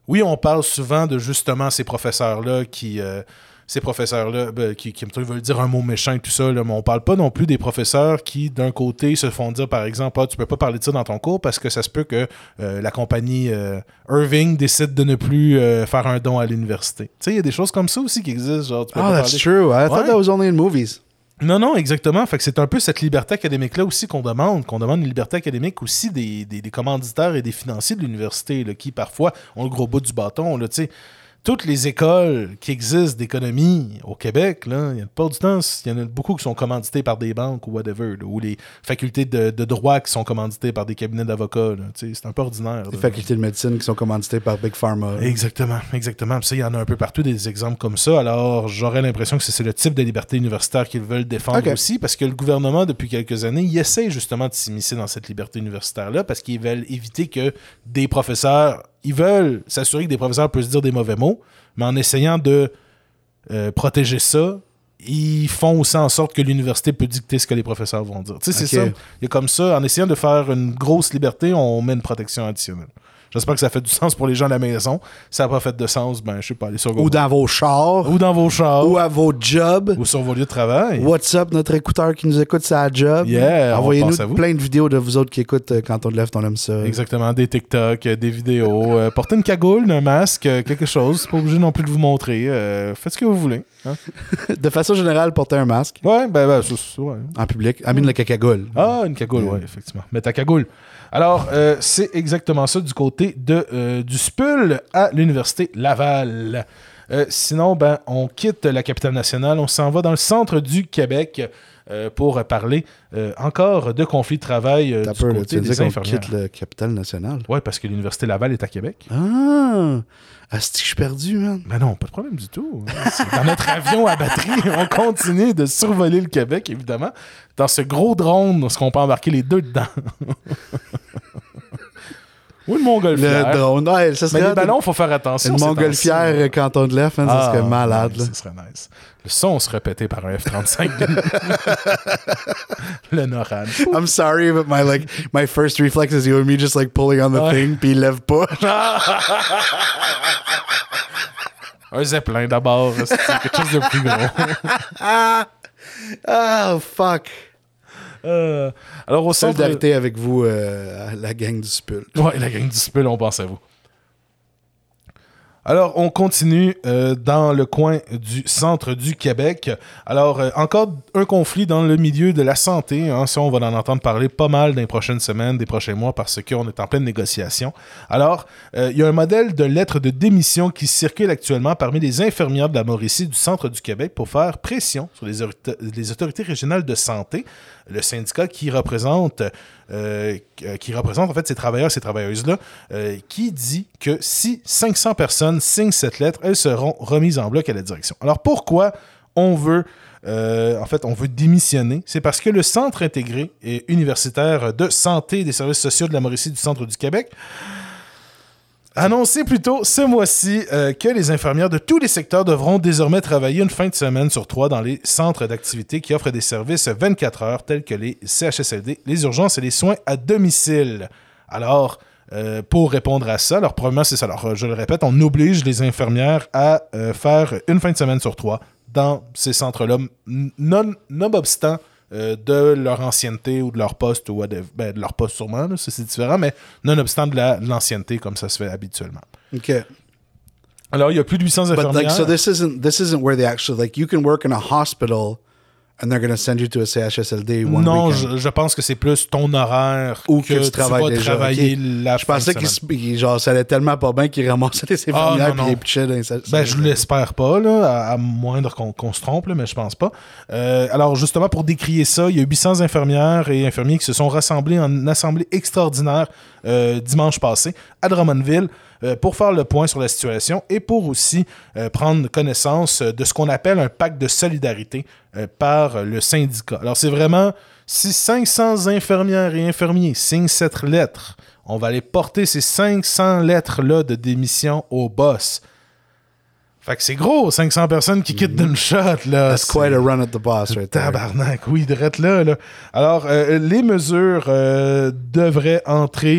oui, on parle souvent de justement ces professeurs-là qui... Euh, ces professeurs-là, ben, qui, qui veulent dire un mot méchant et tout ça, là, mais on parle pas non plus des professeurs qui, d'un côté, se font dire, par exemple, ah, tu peux pas parler de ça dans ton cours parce que ça se peut que euh, la compagnie euh, Irving décide de ne plus euh, faire un don à l'université. Tu sais, il y a des choses comme ça aussi qui existent. Genre, tu peux Oh, pas that's parler... true. I Ouais. thought that was only in movies. Non, non, exactement. Fait que c'est un peu cette liberté académique-là aussi qu'on demande, qu'on demande une liberté académique aussi des, des, des commanditaires et des financiers de l'université, là, qui parfois ont le gros bout du bâton, là, tu sais. Toutes les écoles qui existent d'économie au Québec, là, il y a pas du temps, il y en a beaucoup qui sont commanditées par des banques ou whatever, là, ou les facultés de, de droit qui sont commanditées par des cabinets d'avocats. Là, c'est un peu ordinaire. Les là. facultés de médecine qui sont commanditées par Big Pharma. Exactement, exactement. Puis ça, il y en a un peu partout des exemples comme ça. Alors, j'aurais l'impression que c'est le type de liberté universitaire qu'ils veulent défendre Okay. aussi, parce que le gouvernement, depuis quelques années, il essaie justement de s'immiscer dans cette liberté universitaire-là, parce qu'ils veulent éviter que des professeurs, ils veulent s'assurer que des professeurs peuvent se dire des mauvais mots, mais en essayant de euh, protéger ça, ils font aussi en sorte que l'université peut dicter ce que les professeurs vont dire. Tu sais, c'est Ok. ça. Il y a comme ça, en essayant de faire une grosse liberté, on met une protection additionnelle. J'espère que ça fait du sens pour les gens à la maison. Si ça n'a pas fait de sens, ben, je sais pas, aller sur Ou Google. dans vos chars. Ou dans vos chars. Ou à vos jobs. Ou sur vos lieux de travail. What's up, notre écouteur qui nous écoute, c'est à job. Yeah, on Envoyez-nous pense à vous. plein de vidéos de vous autres qui écoutent euh, quand on te lève, on aime ça. Exactement, des TikTok, euh, des vidéos. Euh, portez une cagoule, un masque, euh, quelque chose. C'est pas obligé non plus de vous montrer. Euh, faites ce que vous voulez. Hein? De façon générale, porter un masque Ouais, ben, ben, ça, ça, ouais. en public. Amine le cacagoule. Ah, une cagoule, oui, effectivement. Mais ta cagoule. Alors, euh, c'est exactement ça du côté de, euh, du S P U L à l'Université Laval. Euh, sinon, ben, on quitte la capitale nationale, on s'en va dans le centre du Québec euh, pour parler euh, encore de conflits de travail euh, T'as du peur, là, côté tu des dis qu'on infirmières. quitte le capital national. Oui, parce que l'Université Laval est à Québec. Ah! Asti que je suis perdu, man. Ben non, pas de problème du tout. C'est dans notre avion à batterie, on continue de survoler le Québec, évidemment. Dans ce gros drone, ce qu'on peut embarquer les deux dedans. Ou une montgolfière. Le drone. Ouais, ça Mais serait les ballons, il faut faire attention. une ces montgolfière temps-ci. euh, quand on te lève, man, ça Ah, serait malade. ouais, là. ça serait nice. Le son serait pété par un F trente-cinq. Le NORAD. I'm sorry, but my like my first reflex is you and me just like pulling on the Ouais. thing, puis il lève pas. Un zeppelin d'abord. C'est quelque chose de plus gros. Oh, fuck. Euh, alors, au centre... Solidarité avec vous, euh, la gang du S P U L. Ouais, la gang du S P U L, on pense à vous. Alors, on continue euh, dans le coin du centre du Québec. Alors, euh, encore un conflit dans le milieu de la santé. Hein, ça, on va en entendre parler pas mal dans les prochaines semaines, des prochains mois, parce qu'on est en pleine négociation. Alors, euh, il y a un modèle de lettre de démission qui circule actuellement parmi les infirmières de la Mauricie du centre du Québec pour faire pression sur les, autorita- les autorités régionales de santé, le syndicat qui représente... Euh, qui représente en fait ces travailleurs et ces travailleuses-là, euh, qui dit que si cinq cents personnes signent cette lettre, elles seront remises en bloc à la direction. Alors pourquoi on veut, euh, en fait, on veut démissionner? C'est parce que le Centre intégré et universitaire de santé et des services sociaux de la Mauricie du centre du Québec a annoncé plutôt ce mois-ci euh, que les infirmières de tous les secteurs devront désormais travailler une fin de semaine sur trois dans les centres d'activité qui offrent des services vingt-quatre heures tels que les C H S L D, les urgences et les soins à domicile. Alors, euh, pour répondre à ça, alors premièrement, c'est ça. Alors, je le répète, on oblige les infirmières à euh, faire une fin de semaine sur trois dans ces centres-là, non, nonobstant Euh, de leur ancienneté ou de leur poste ou whatever. Ben, de leur poste sûrement, là, ça c'est différent, mais nonobstant de, la, de l'ancienneté comme ça se fait habituellement. Okay. Alors, il y a plus de huit cents But infirmières. like, so this isn't this isn't where they actually like you can work in a hospital, and they're going to send you to a C H S L D one non, weekend. je, je pense que c'est plus ton horaire Ou que, que tu travailles vas déjà, travailler ok. la Je fin pensais de qu'il semaine. se- il- genre ça allait tellement pas bien qu'il ramassait les infirmières Ah, non, puis non. les pitchait dans les salles- Ben, je l'espère pas, là, à, à moindre qu'on, qu'on se trompe, là, mais je pense pas. Euh, alors, justement, pour décrier ça, il y a huit cents infirmières et infirmiers qui se sont rassemblés en assemblée extraordinaire euh, dimanche passé à Drummondville euh, pour faire le point sur la situation et pour aussi euh, prendre connaissance de ce qu'on appelle un pacte de solidarité euh, par le syndicat. Alors, c'est vraiment, si cinq cents infirmières et infirmiers signent cette lettre, on va aller porter ces cinq cents lettres-là de démission au boss. Fait que c'est gros, cinq cents personnes qui quittent d'une shot, là. That's C'est- quite a run at the boss right there. Tabarnak, oui, drette là, là. Alors, euh, les mesures euh, devraient entrer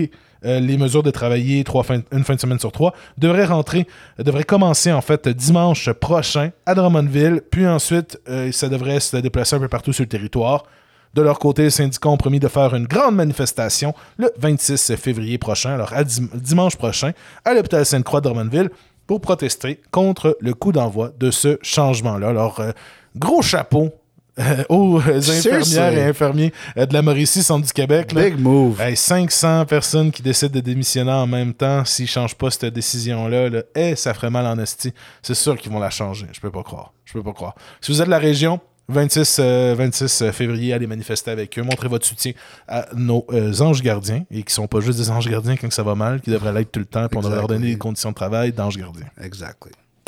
euh, les mesures de travailler trois fin, une fin de semaine sur trois devraient rentrer, euh, devraient commencer en fait dimanche prochain à Drummondville, puis ensuite euh, ça devrait se déplacer un peu partout sur le territoire. De leur côté, les syndicats ont promis de faire une grande manifestation le vingt-six février prochain, alors à dim- dimanche prochain, à l'hôpital Sainte-Croix de Drummondville, pour protester contre le coup d'envoi de ce changement-là. Alors, euh, gros chapeau euh, aux infirmières Seriously? et infirmiers euh, de la Mauricie, Centre du Québec. Là. Big move. Hey, cinq cents personnes qui décident de démissionner en même temps s'ils ne changent pas cette décision-là. Là, hey, ça ferait mal en esti. C'est sûr qu'ils vont la changer. Je peux pas croire. Je peux pas croire. Si vous êtes de la région, vingt-six, euh, vingt-six février, allez manifester avec eux. Montrez votre soutien à nos euh, anges gardiens, et qui sont pas juste des anges gardiens quand ça va mal, qui devraient l'être tout le temps, puis on devrait leur donner des conditions de travail d'anges gardiens. Exactly.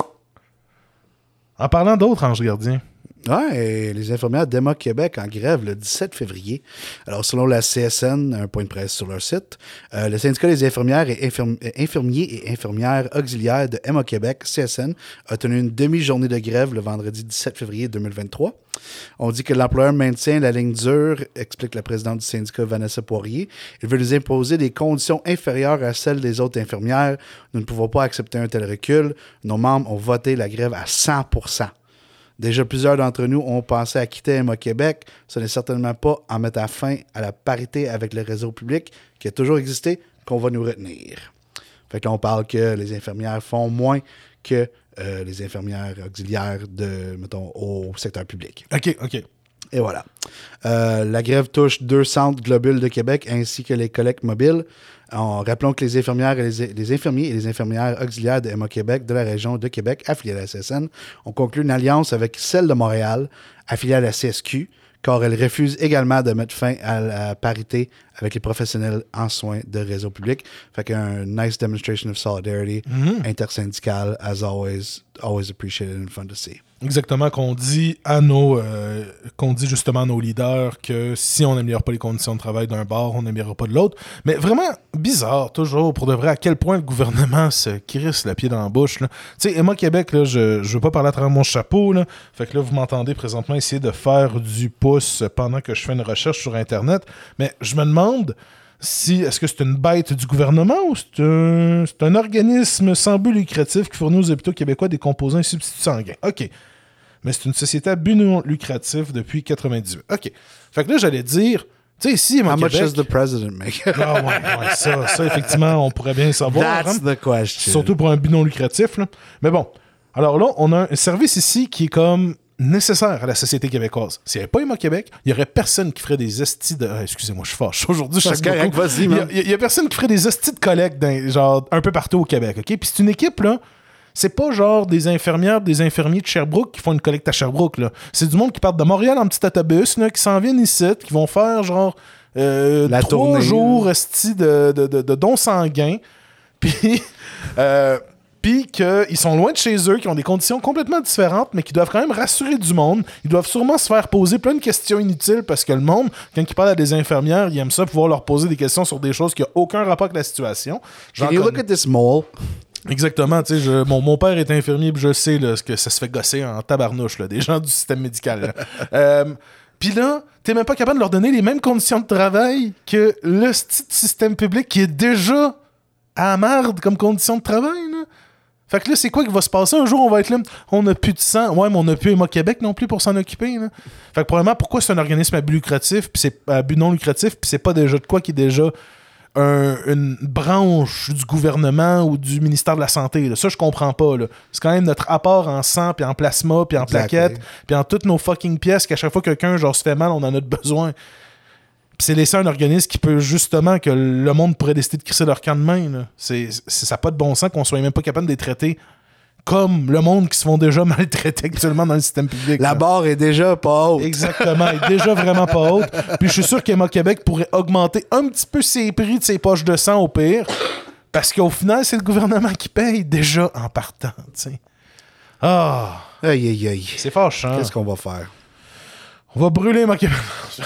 En parlant d'autres anges gardiens, Ouais, et les infirmières d'Emma Québec en grève le dix-sept février. Alors, selon la C S N, un point de presse sur leur site, euh, le syndicat des infirmières et infirmi- infirmiers et infirmières auxiliaires de Emma Québec, C S N, a tenu une demi-journée de grève le vendredi dix-sept février deux mille vingt-trois. On dit que l'employeur maintient la ligne dure, explique la présidente du syndicat Vanessa Poirier. Il veut nous imposer des conditions inférieures à celles des autres infirmières. Nous ne pouvons pas accepter un tel recul. Nos membres ont voté la grève à cent pour cent. Déjà, plusieurs d'entre nous ont pensé à quitter Emma Québec. Ce n'est certainement pas en mettant fin à la parité avec le réseau public qui a toujours existé qu'on va nous retenir. Fait que là, on parle que les infirmières font moins que euh, les infirmières auxiliaires de, mettons, au secteur public. OK, OK. Et voilà. Euh, la grève touche deux centres globules de Québec ainsi que les collectes mobiles. En, rappelons que les infirmières et les, les infirmiers et les infirmières auxiliaires de Emma Québec de la région de Québec, affiliées à la C S N, ont conclu une alliance avec celle de Montréal, affiliée à la C S Q, car elles refusent également de mettre fin à la parité avec les professionnels en soins de réseau public. Fait qu'un nice demonstration of solidarity mm-hmm. intersyndicale, as always, always appreciated and fun to see. Exactement, qu'on dit à nos euh, qu'on dit justement à nos leaders que si on n'améliore pas les conditions de travail d'un bord, on n'améliorera pas de l'autre. Mais vraiment bizarre, toujours, pour de vrai, à quel point le gouvernement se crisse le pied dans la bouche. Tu sais, Emma Québec, là, je ne veux pas parler à travers mon chapeau. Là. Fait que là, vous m'entendez présentement essayer de faire du pouce pendant que je fais une recherche sur Internet. Mais je me demande si est-ce que c'est une bête du gouvernement ou c'est un, c'est un organisme sans but lucratif qui fournit aux hôpitaux québécois des composants et substituts sanguins. OK. Mais c'est une société à but non lucratif depuis quatre-vingt-dix-huit. OK. Fait que là, j'allais dire, tu sais, ici, Emma How Québec... much does the president make? Ah ouais, ouais, ça, ça, effectivement, on pourrait bien savoir. That's hein? the question. Surtout pour un but non lucratif. Là. Mais bon, alors là, on a un service ici qui est comme nécessaire à la société québécoise. S'il n'y avait pas Emma Québec, il n'y aurait personne qui ferait des estis de... Ah, excusez-moi, je suis fâche. Aujourd'hui, je Parce sais correct, beaucoup. vas-y, Il man. n'y a, a personne qui ferait des estis de collecte dans, genre, un peu partout au Québec. OK? Puis c'est une équipe, là, c'est pas genre des infirmières, des infirmiers de Sherbrooke qui font une collecte à Sherbrooke, là. C'est du monde qui part de Montréal en petit autobus, là, qui s'en viennent ici, qui vont faire genre euh, La trois tournée, jours esti, de, de, de, de dons sanguins. Puis... Euh, Puis qu'ils sont loin de chez eux, qui ont des conditions complètement différentes, mais qui doivent quand même rassurer du monde. Ils doivent sûrement se faire poser plein de questions inutiles parce que le monde, quand ils parlent à des infirmières, ils aiment ça pouvoir leur poser des questions sur des choses qui n'ont aucun rapport avec la situation. J'en Can you look connais. at this mole? Exactement, tu sais, je- mon, mon père est infirmier, puis je sais là, ce que ça se fait gosser en tabarnouche, là, des gens du système médical. là. euh, Puis là, t'es même pas capable de leur donner les mêmes conditions de travail que le sti- système public qui est déjà à la merde comme conditions de travail, là. Fait que là, c'est quoi qui va se passer? Un jour, on va être là, on n'a plus de sang. Ouais, mais on n'a plus Emma Québec non plus pour s'en occuper. Là. Fait que probablement, pourquoi c'est un organisme à but lucratif, puis c'est à but non lucratif, puis c'est pas déjà de quoi qui est déjà un- une branche du gouvernement ou du ministère de la Santé. Là. Ça, je comprends pas. Là. C'est quand même notre apport en sang, puis en plasma, puis en Exactly. plaquettes, puis en toutes nos fucking pièces qu'à chaque fois que quelqu'un genre, se fait mal, on en a besoin. Puis c'est laisser un organisme qui peut justement, que le monde pourrait décider de crisser leur camp de main. Là. C'est, c'est, ça n'a pas de bon sens qu'on soit même pas capable de les traiter comme le monde qui se font déjà maltraiter actuellement dans le système public. La là. barre est déjà pas haute. Exactement, elle est déjà vraiment pas haute. Puis je suis sûr qu'Emma Québec pourrait augmenter un petit peu ses prix de ses poches de sang au pire, parce qu'au final, c'est le gouvernement qui paye déjà en partant. T'sais. Ah, Aïe, aïe, aïe. c'est fâchant. Qu'est-ce qu'on va faire? On va brûler Emma Québec.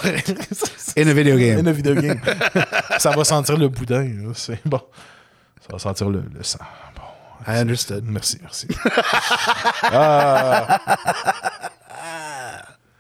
In a video game. In a video game. Ça va sentir le boudin. Là. C'est bon. Ça va sentir le, le sang. Bon. I understood. Merci, merci. ah.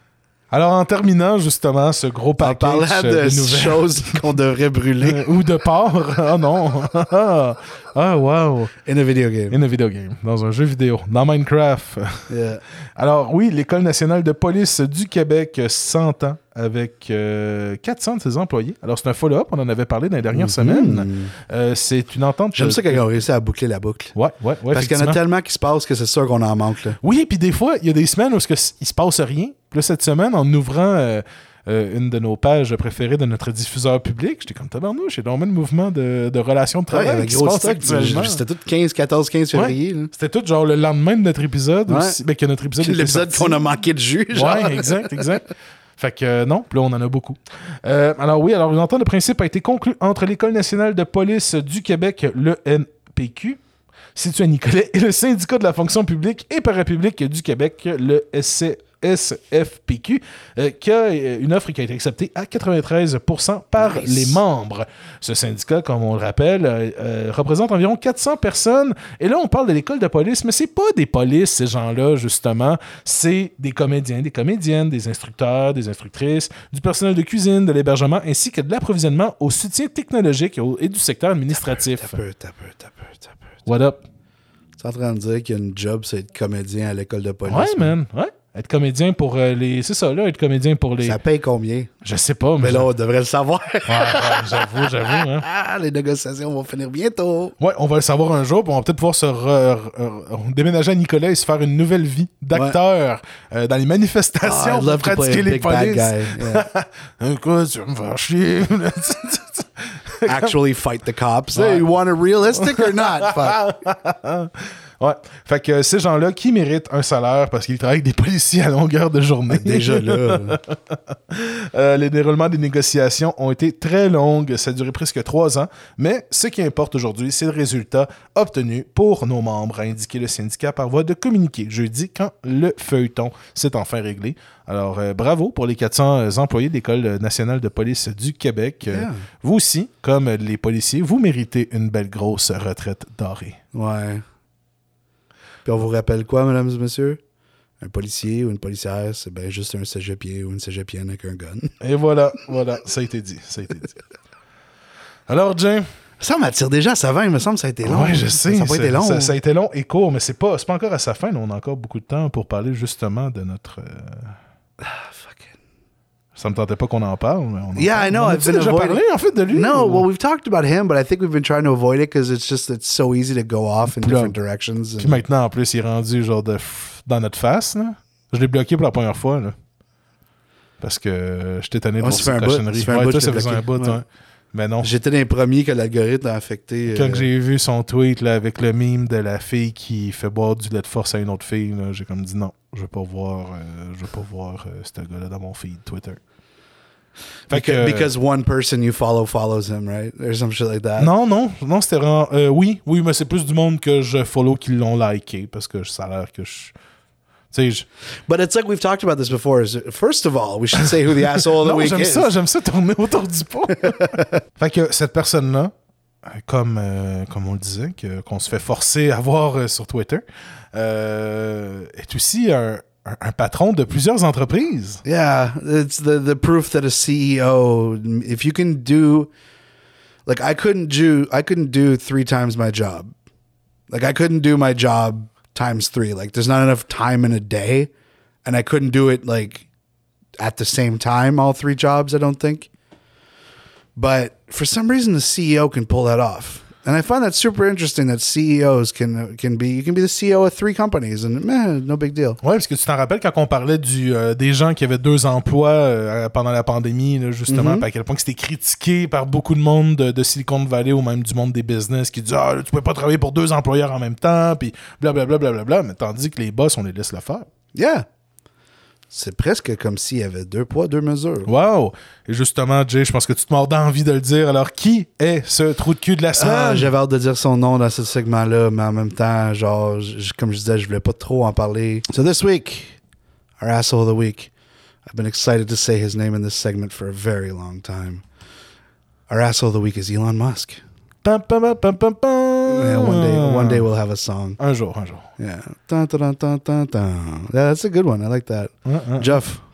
Alors, en terminant, justement, ce gros En package parlant de, de nouvelles... choses qu'on devrait brûler Euh, ou de porc. Ah non. Ah, wow. in a video game. In a video game. Dans un jeu vidéo. Dans Minecraft. Yeah. Alors, oui, l'École nationale de police du Québec s'entend avec euh, quatre cents de ses employés. Alors, c'est un follow-up. On en avait parlé dans les dernières Mhm. semaines. Euh, c'est une entente... J'aime ça quand ils ont réussi à boucler la boucle. Ouais, ouais, ouais. Parce qu'il y en a effectivement. tellement qui se passe que c'est sûr qu'on en manque. Là. Oui, puis des fois, il y a des semaines où ce que c- il se passe rien. Puis là, cette semaine, en ouvrant euh, euh, une de nos pages préférées de notre diffuseur public, j'étais comme tabarnouche, il y a donc même le mouvement de, de relations de Ouais, il y travail avait qui se gros passe stock. actuellement. C'était tout quinze, quatorze, quinze février. là. C'était tout genre le lendemain de notre épisode. Ouais. Aussi, ben, que notre épisode était L'épisode sorti. qu'on a manqué de jus. Genre. Ouais, exact, exact. Fait que euh, non, puis là, on en a beaucoup. Euh, alors oui, alors une entente de principe a été conclue entre l'École nationale de police du Québec, l'E N P Q, situé à Nicolet, et le syndicat de la fonction publique et parapublique du Québec, le S C S F P Q, euh, qui a euh, une offre qui a été acceptée à quatre-vingt-treize pour cent par Nice. les membres. Ce syndicat, comme on le rappelle, euh, euh, représente environ quatre cents personnes. Et là, on parle de l'école de police, mais c'est pas des polices, ces gens-là, justement. C'est des comédiens, des comédiennes, des instructeurs, des instructrices, du personnel de cuisine, de l'hébergement, ainsi que de l'approvisionnement au soutien technologique et, au- et du secteur administratif. T'as peu, t'as peu, t'as peu, t'as peu. What up? Tu es en train de dire qu'il y a une job, c'est être comédien à l'école de police. Ouais, man. Ouais. Être comédien pour euh, les... C'est ça, là, être comédien pour les... Ça paye combien? Je sais pas, mais... Mais là, on devrait le savoir. Ouais, ouais, j'avoue, j'avoue, hein. Ah, les négociations vont finir bientôt. Ouais, on va le savoir un jour, puis on va peut-être pouvoir se re- re- re- déménager à Nicolas et se faire une nouvelle vie d'acteur euh, dans les manifestations Ah, I'd pour love to play pratiquer a les big bad polices. guy. Yeah. Écoute, tu vas me faire chier. Actually fight the cops. Hey, you want it realistic or not? Fuck. Ouais. Fait que ces gens-là qui méritent un salaire parce qu'ils travaillent avec des policiers à longueur de journée. Déjà là. Euh, les déroulements des négociations ont été très longues, ça a duré presque trois ans, mais ce qui importe aujourd'hui, c'est le résultat obtenu pour nos membres, a indiqué le syndicat par voie de communiqué jeudi quand le feuilleton s'est enfin réglé. Alors, euh, bravo pour les quatre cents employés de l'École nationale de police du Québec. Euh, Yeah. vous aussi, comme les policiers, vous méritez une belle grosse retraite dorée. Ouais. Puis on vous rappelle quoi, mesdames et messieurs? Un policier ou une policière, c'est bien juste un cégepier ou une cégepienne avec un gun. Et voilà, voilà, ça a été dit, ça a été dit. Alors, Jay, Ça m'attire déjà à sa fin, il me semble que ça a été long. ouais, je sais, Ça n'a pas c'est- été long. Ça, ça a été long et court, mais c'est pas, c'est pas encore à sa fin. Là, on a encore beaucoup de temps pour parler justement de notre. euh, Ah, fuck it. Ça me tentait pas qu'on en parle, mais on en Yeah, parle. I know, On I've a-tu been déjà avoiding- parlé en fait de lui? No, ou- well, we've talked about him, but I think we've been trying to avoid it because it's just it's so easy to go off in Puis là- different directions. Puis maintenant, en plus, il est rendu genre de f- dans notre face. Là. Je l'ai bloqué pour la première fois. Là. Parce que euh, j'étais tanné de Ouais, voir ça fait ces un bout, cochonneries. ça fait un Ouais, bout toi, que ça je l'ai faisait un bout. bloqué. Ouais. Mais non. J'étais les premiers que l'algorithme a affecté. Quand euh, j'ai vu son tweet là, avec le meme de la fille qui fait boire du lait de force à une autre fille, là, j'ai comme dit non, je veux pas voir, euh, je veux pas voir euh, ce gars-là dans mon feed Twitter. Fait que, Because, euh, because one person you follow follows him, right? Or some shit like that. non, non, non, c'était vraiment. euh, oui, oui, mais c'est plus du monde que je follow qui l'ont liké parce que ça a l'air que je. Tu sais, je- But it's like we've talked about this before. Is First of all, we should say who the asshole of the non, week j'aime is. ça, j'aime ça tourner autour du pot. Fait que cette personne-là, euh, comme, euh, comme on le disait, que- qu'on se fait forcer à voir euh, sur Twitter, euh, est aussi un, un- un patron de plusieurs entreprises. Yeah, it's the the proof that a C E O, if you can do, like I couldn't do, I couldn't do three times my job. Like I couldn't do my job times three. Like there's not enough time in a day, and I couldn't do it like at the same time all three jobs. I don't think. But for some reason, the C E O can pull that off. And I find that super interesting that C E Os can can be you can be the C E O of three companies and man, no big deal. Oui, parce que tu t'en rappelles quand on parlait du, euh, des gens qui avaient deux emplois euh, pendant la pandémie, là, justement, Mhm. puis à quel point que c'était critiqué par beaucoup de monde de, de Silicon Valley ou même du monde des business qui disent ah, là, tu peux pas travailler pour deux employeurs en même temps, puis blablabla, blablabla, mais tandis que les boss, on les laisse le faire. Yeah. C'est presque comme s'il y avait deux poids, deux mesures. Wow! Et justement, Jay, je pense que tu te mords d'envie de le dire. Alors, qui est ce trou de cul de la semaine? Ah, j'avais hâte de dire son nom dans ce segment-là, mais en même temps, genre, j- comme je disais, je voulais pas trop en parler. So this week, our asshole of the week, I've been excited to say his name in this segment for a very long time. Our asshole of the week is Elon Musk. Pam, pam, pam, pam, pam, pam. Yeah, one day, one day we'll have a song. Un jour, un jour. Yeah. Dun, dun, dun, dun, dun, dun. Yeah, that's a good one. I like that. Hein, hein. Jeff,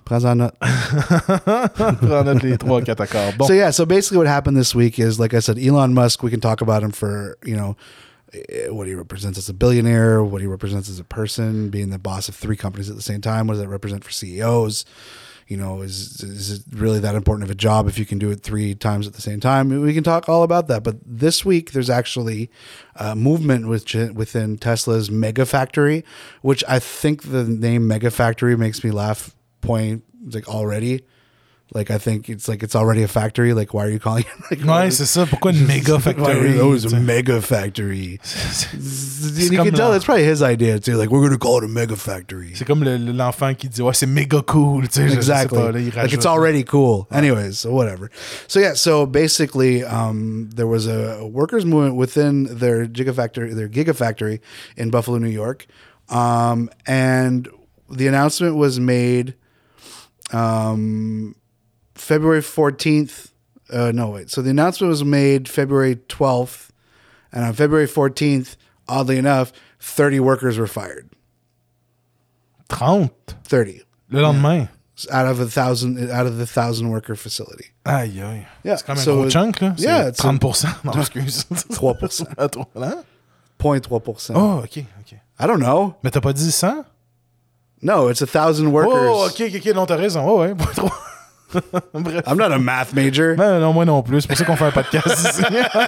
Prends en note. Prends note les trois, quatre accords. Bon. So yeah, so basically what happened this week is, like I said, Elon Musk, we can talk about him for, you know, what he represents as a billionaire, what he represents as a person, being the boss of three companies at the same time. What does that represent for C E Os? You know, is is it really that important of a job if you can do it three times at the same time? We can talk all about that. But this week, there's actually a movement with, within Tesla's Mega Factory, which I think the name Mega Factory makes me laugh point like already. Like, I think it's like it's already a factory. Like, why are you calling it? Like, ouais, c'est ça. Pourquoi une méga factory? Oh, it's a mega factory. You can tell it's probably his idea too. Like, we're going to call it a mega factory. C'est comme le, l'enfant qui dit, ouais, c'est méga cool. Tu sais, exactly. Pas, là, il like, it's already cool. Anyways, so whatever. So yeah, so basically, um, there was a workers' movement within their gigafactory, their gigafactory in Buffalo, New York, um, and the announcement was made. Um, February fourteenth, uh, no, wait. So the announcement was made February twelfth, and on February fourteenth, oddly enough, thirty workers were fired. thirty? thirty. Le lendemain? Yeah. Out of a thousand, out of the thousand worker facility. Aïe, aïe. Yeah. C'est quand même so un gros chunk, là. C'est yeah, it's thirty percent. Non, excuse. three percent. Hein? zero point three percent. Oh, OK, OK. I don't know. Mais t'as pas dit cent? No, it's a thousand workers. Oh, OK, OK, OK. Non, t'as raison. Oh, ouais, point trois. Bref. I'm not a math major. Ben, non, moi non plus. C'est pour ça qu'on fait un podcast ici.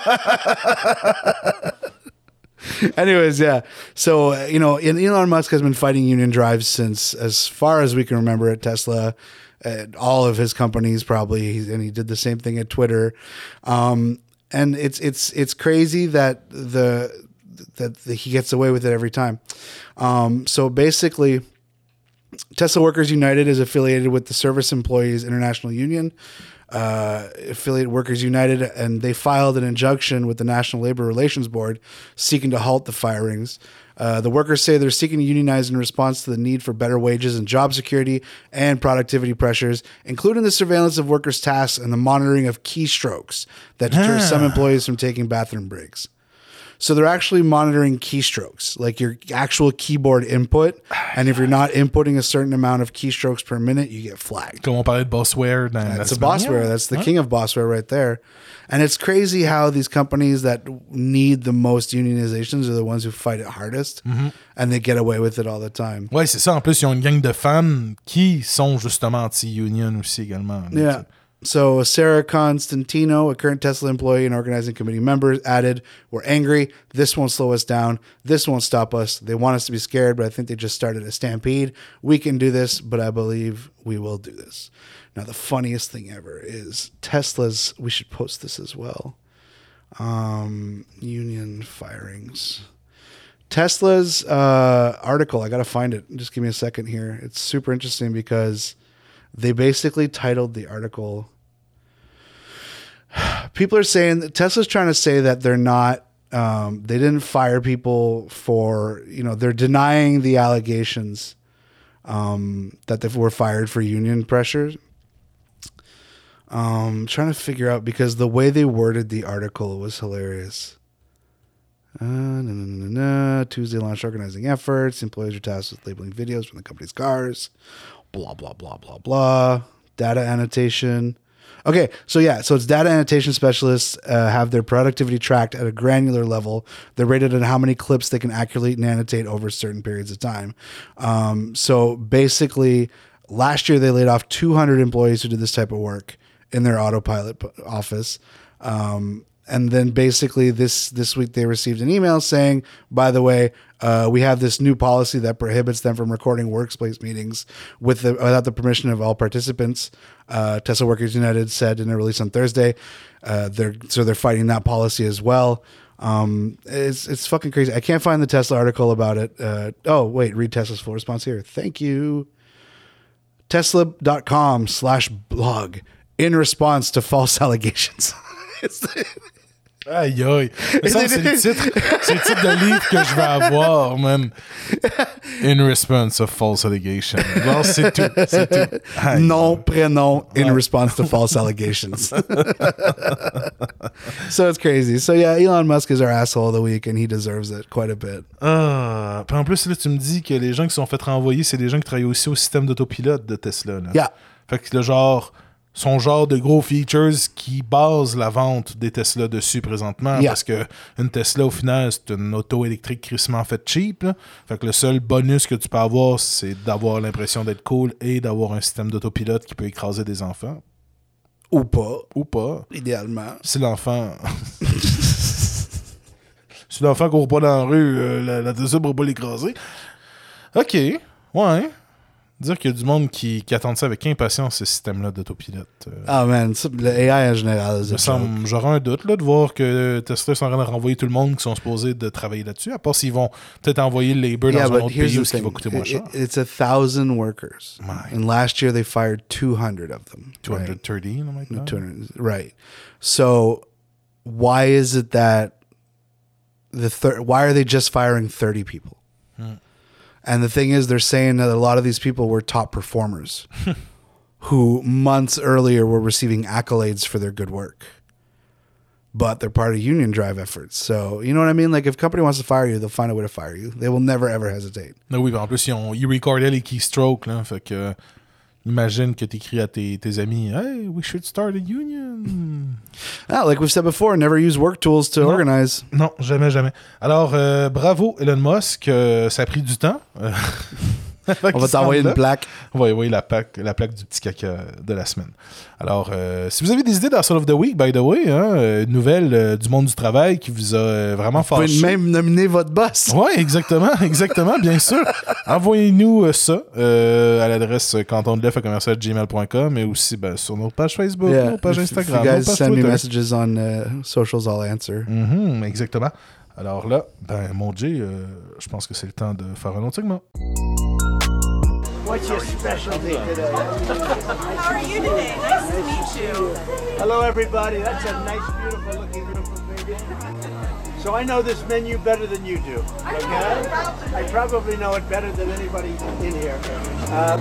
Anyways, yeah. So, uh, you know, Elon Musk has been fighting union drives since as far as we can remember at Tesla, at all of his companies probably, and he did the same thing at Twitter. Um, and it's it's it's crazy that the that the, he gets away with it every time. Um, so basically, Tesla Workers United is affiliated with the Service Employees International Union, uh, affiliate Workers United, and they filed an injunction with the National Labor Relations Board seeking to halt the firings. Uh, the workers say they're seeking to unionize in response to the need for better wages and job security and productivity pressures, including the surveillance of workers' tasks and the monitoring of keystrokes that deter some employees from taking bathroom breaks. So they're actually monitoring keystrokes, like your actual keyboard input. And if you're not inputting a certain amount of keystrokes per minute, you get flagged. Comme on parlait de Bossware. That's a Bossware. That's the king of Bossware right there. And it's crazy how these companies that need the most unionizations are the ones who fight it hardest. Mm-hmm. And they get away with it all the time. Ouais, c'est ça. En plus, ils ont une gang de fans qui sont justement anti-union aussi également. Yeah. So Sarah Constantino, a current Tesla employee and organizing committee member, added, "We're angry. This won't slow us down. This won't stop us. They want us to be scared, but I think they just started a stampede. We can do this, but I believe we will do this." Now, the funniest thing ever is Tesla's, we should post this as well, um, union firings. Tesla's uh, article, I got to find it. Just give me a second here. It's super interesting because they basically titled the article. People are saying that Tesla's trying to say that they're not, um, they didn't fire people for, you know, they're denying the allegations um, that they were fired for union pressures. Um, trying to figure out because the way they worded the article was hilarious. Uh, nah, nah, nah, nah, nah. Tuesday launched organizing efforts. Employees are tasked with labeling videos from the company's cars. Blah, blah, blah, blah, blah. Data annotation. Okay, so yeah, so it's data annotation specialists uh, have their productivity tracked at a granular level. They're rated on how many clips they can accurately annotate over certain periods of time. Um, so basically, last year they laid off two hundred employees who did this type of work in their autopilot office. Um, and then basically this, this week they received an email saying, by the way, uh, we have this new policy that prohibits them from recording workplace meetings with the, without the permission of all participants. Uh, Tesla Workers United said in a release on Thursday, uh, they're, so they're fighting that policy as well. Um, it's, it's fucking crazy. I can't find the Tesla article about it. Uh, oh, wait, read Tesla's full response here. Thank you. Tesla.com slash blog in response to false allegations. It's the, Aïe, aïe. Mais ça, c'est le titre, c'est le titre de livre que je vais avoir, man. In response of false allegation. Bon, c'est tout. C'est tout. Aïe. Nom, prénom, in Ouais. response to false allegations. So it's crazy. So yeah, Elon Musk is our asshole of the week and he deserves it quite a bit. Ah, puis en plus, là, tu me dis que les gens qui se sont fait renvoyer, c'est des gens qui travaillent aussi au système d'autopilote de Tesla. Là. Yeah. Fait que le genre, son genre de gros features qui base la vente des Tesla dessus présentement. Yeah. Parce que une Tesla, au final, c'est une auto électrique crissement faite cheap. Là. Fait que le seul bonus que tu peux avoir, c'est d'avoir l'impression d'être cool et d'avoir un système d'autopilote qui peut écraser des enfants. Ou pas, Ou pas. idéalement. Si l'enfant. si l'enfant court pas dans la rue, euh, la, la Tesla ne pourra pas l'écraser. Ok. Ouais. Dire qu'il y a du monde qui, qui attend ça avec impatience, ce système-là d'autopilote. Euh, Ah man, ça, le A I en général, me c'est semble- J'aurais un doute là, de voir que Tesla sont en train de renvoyer tout le monde qui sont supposés de travailler là-dessus, à part s'ils vont peut-être envoyer le labor Yeah, dans un but autre here's pays où the ce qui va thing. coûter moins It- cher. it- it's a thousand workers. My. And last year they fired two hundred of them. two hundred thirty, something like that. two hundred, right. So why is it that the thir- why are they just firing thirty people? And the thing is, they're saying that a lot of these people were top performers who months earlier were receiving accolades for their good work. But they're part of union drive efforts. So, you know what I mean? Like, if a company wants to fire you, they'll find a way to fire you. They will never, ever hesitate. Ah oui, ben en plus, ils, ont, ils recordaient les keystrokes, là, fait que imagine que t'écris à tes, tes amis « Hey, we should start a union! » Ah, like we've said before, never use work tools to No. organize. Non, jamais, jamais. Alors, euh, bravo Elon Musk, euh, ça a pris du temps. Euh, On va t'envoyer une plaque. On va envoyer la plaque, la plaque du petit caca de la semaine. Alors, euh, si vous avez des idées dans Soul of the Week, by the way, hein, euh, une nouvelle euh, du monde du travail qui vous a euh, vraiment Vous pouvez fâché. même nominer votre boss. Oui, exactement, exactement, bien sûr. Envoyez-nous euh, ça euh, à l'adresse cantondeleff à commercial gmail point com et aussi ben, sur notre page Facebook, Yeah. notre page If- Instagram, If you guys notre page send me Twitter. messages on uh, socials, I'll answer. Mhm, exactement. Alors là, ben mon Jay, euh, je pense que c'est le temps de faire un autre segment. What's your specialty today? How are you today? Nice to meet you. Hello, everybody. That's a nice, beautiful looking beautiful baby. So I know this menu better than you do. Okay? I probably know it better than anybody in here. Uh,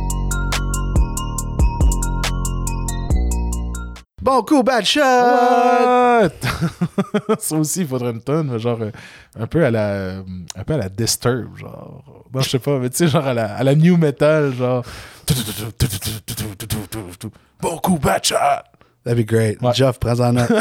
Bon coup, bad shot! What? Ça aussi, il faudrait une tonne, mais genre euh, un peu à la euh, un peu à la Disturb, genre. Non, je sais pas, mais tu sais, genre à la, à la new metal, genre. Bon coup, bad shot! That'd be great. Ouais. Jeff, prends en note.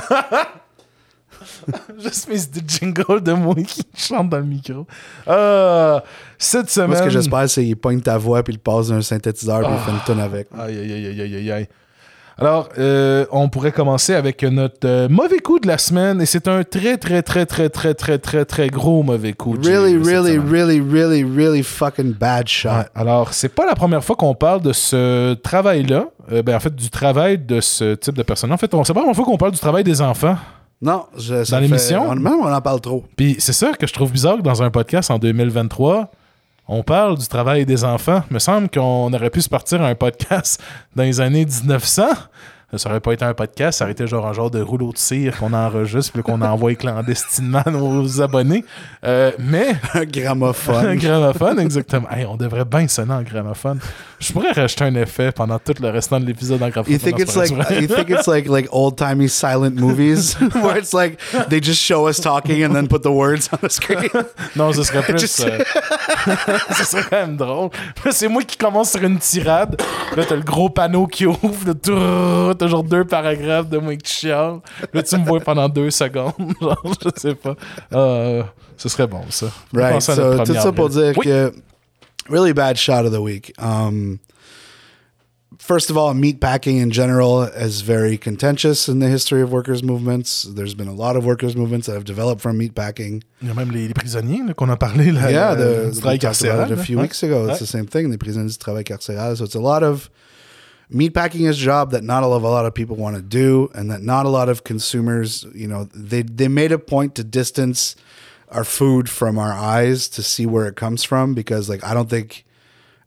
Juste mes des jingles de moi qui chantent dans le micro. Euh, cette semaine. Moi, ce que j'espère, c'est qu'il pogne ta voix, puis il passe d'un synthétiseur, puis il fait une tonne avec. Aïe, aïe, aïe, aïe, aïe, aïe. Alors, euh, on pourrait commencer avec notre euh, mauvais coup de la semaine, et c'est un très, très, très, très, très, très, très, très gros mauvais coup. Jay, Really, cette really, semaine. really, really, really fucking bad shot. Ouais, alors, c'est pas la première fois qu'on parle de ce travail-là. Euh, ben, en fait, du travail de ce type de personne. En fait, on- c'est pas la première fois qu'on parle du travail des enfants. Non, je, ça Dans fait- l'émission? on- Même on en parle trop. Puis c'est ça que je trouve bizarre que dans un podcast en deux mille vingt-trois, on parle du travail des enfants. Il me semble qu'on aurait pu se partir à un podcast dans les années dix-neuf cents. Ça aurait pas été un podcast, ça aurait été genre un genre de rouleau de cire qu'on enregistre puis qu'on envoie clandestinement à nos abonnés. Euh, mais Un un gramophone. gramophone, exactement. Hey, on devrait bien sonner en gramophone. Je pourrais rajouter un effet pendant tout le restant de l'épisode en gramophone. You think Non, it's c'est pas like vrai, c'est you think it's like like old timey silent movies where it's like they just show us talking and then put the words on the screen. vrai. Non, ce serait plus. Just- euh, ce serait quand même drôle. Là, c'est moi qui commence sur une tirade. Là, t'as le gros panneau qui ouvre. Là, tout- t'as genre deux paragraphes de moi qui chiale. Là, tu me vois pendant deux secondes. Genre, je sais pas. Euh, ce serait bon, ça. Right. Pensez à notre So tout premier ça pour avril. dire Oui. que really bad shot of the week. Um, first of all, meatpacking in general is very contentious in the history of workers' movements. There's been a lot of workers' movements that have developed from meatpacking. Il y a même les, les prisonniers là, qu'on a parlé là, Yeah, euh, the, du we travail talked about carcéral. it a là. few Ouais. weeks ago. It's Ouais. the same thing. Les prisonniers du travail carcéral. So it's a lot of meatpacking is a job that not a lot, a lot of people want to do, and that not a lot of consumers. You know, they they made a point to distance our food from our eyes to see where it comes from, because like I don't think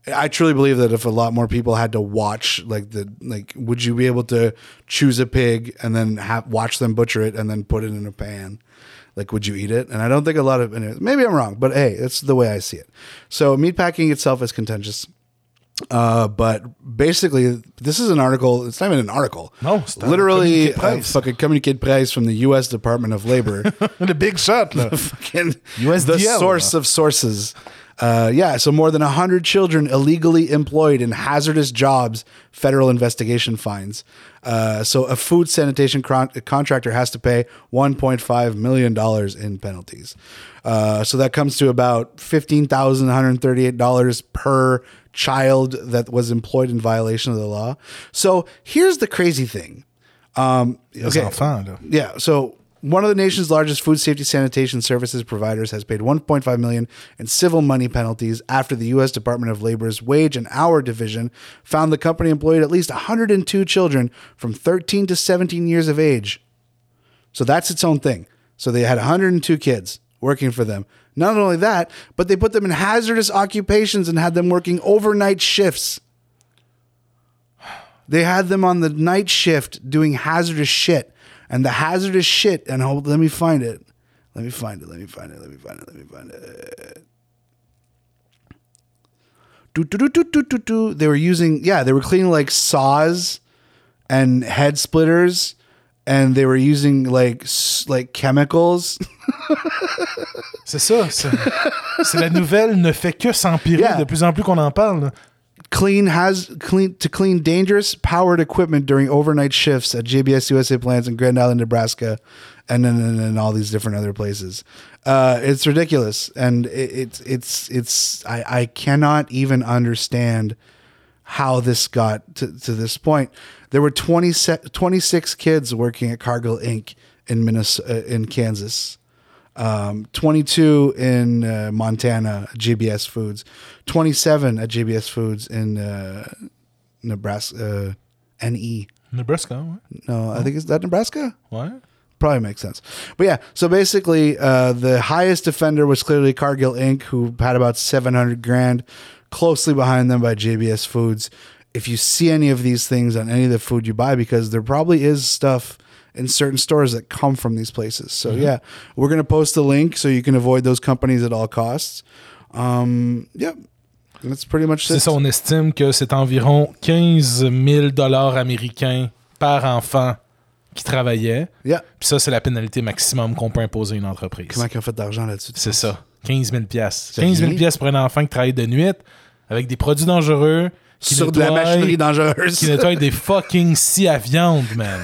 I truly believe that if a lot more people had to watch, like the like, would you be able to choose a pig and then have, watch them butcher it and then put it in a pan? Like, would you eat it? And I don't think a lot of, maybe I'm wrong, but hey, it's the way I see it. So meatpacking itself is contentious. Uh, but basically, this is an article. It's not even an article. No, it's not literally a communiqué de a presse. fucking communiqué de presse from the U S Department of Labor. The big shot, là. Fucking U S D L, the source là. of sources. Uh, yeah, so more than one hundred children illegally employed in hazardous jobs, federal investigation finds. Uh, so a food sanitation con- contractor has to pay one point five million dollars in penalties. Uh, so that comes to about fifteen thousand one hundred thirty-eight dollars per child that was employed in violation of the law. So here's the crazy thing. Um, Les okay. enfants, là. Yeah, so one of the nation's largest food safety sanitation services providers has paid one point five million dollars in civil money penalties after the U S Department of Labor's Wage and Hour Division found the company employed at least one hundred two children from thirteen to seventeen years of age. So that's its own thing. So they had one hundred two kids working for them. Not only that, but they put them in hazardous occupations and had them working overnight shifts. They had them on the night shift doing hazardous shit. And the hazardous shit, and hold, let me find it. Let me find it. Let me find it. Let me find it. Let me find it. Do, do, do, do, do, do, do. They were using, yeah, they were cleaning like saws and head splitters, and they were using like s- like chemicals. C'est ça. C'est, c'est la nouvelle ne fait que s'empirer Yeah. de plus en plus qu'on en parle. là. Clean has clean to clean dangerous powered equipment during overnight shifts at J B S U S A plants in Grand Island, Nebraska, and then and, and all these different other places. Uh, it's ridiculous, and it, it's it's it's I, I cannot even understand how this got to, to this point. There were twenty, twenty-six kids working at Cargill Incorporated in Minnesota, in Kansas. Um, twenty-two in uh, Montana at J B S Foods, twenty-seven at J B S Foods in uh, Nebraska, uh, N E. Nebraska, ouais. No, I think it's that Nebraska. Ouais. Probably makes sense. But yeah, so basically, uh, the highest offender was clearly Cargill Incorporated, who had about seven hundred grand, closely behind them by J B S Foods. If you see any of these things on any of the food you buy, because there probably is stuff in certain stores that come from these places. So mm-hmm. yeah, we're going to post the link so you can avoid those companies at all costs. Um, yeah, that's pretty much C'est it. ça, on estime que c'est environ quinze mille dollars américains par enfant qui travaillait. Yeah. Puis ça, c'est la pénalité maximum qu'on peut imposer à une entreprise. Comment ils ont fait d'argent là-dessus? C'est ça. quinze mille piastres. C'est quinze mille rien. piastres pour un enfant qui travaille de nuit avec des produits dangereux. Qui Sur de la nettoie- machinerie dangereuse. Qui nettoie des fucking scies à viande, man.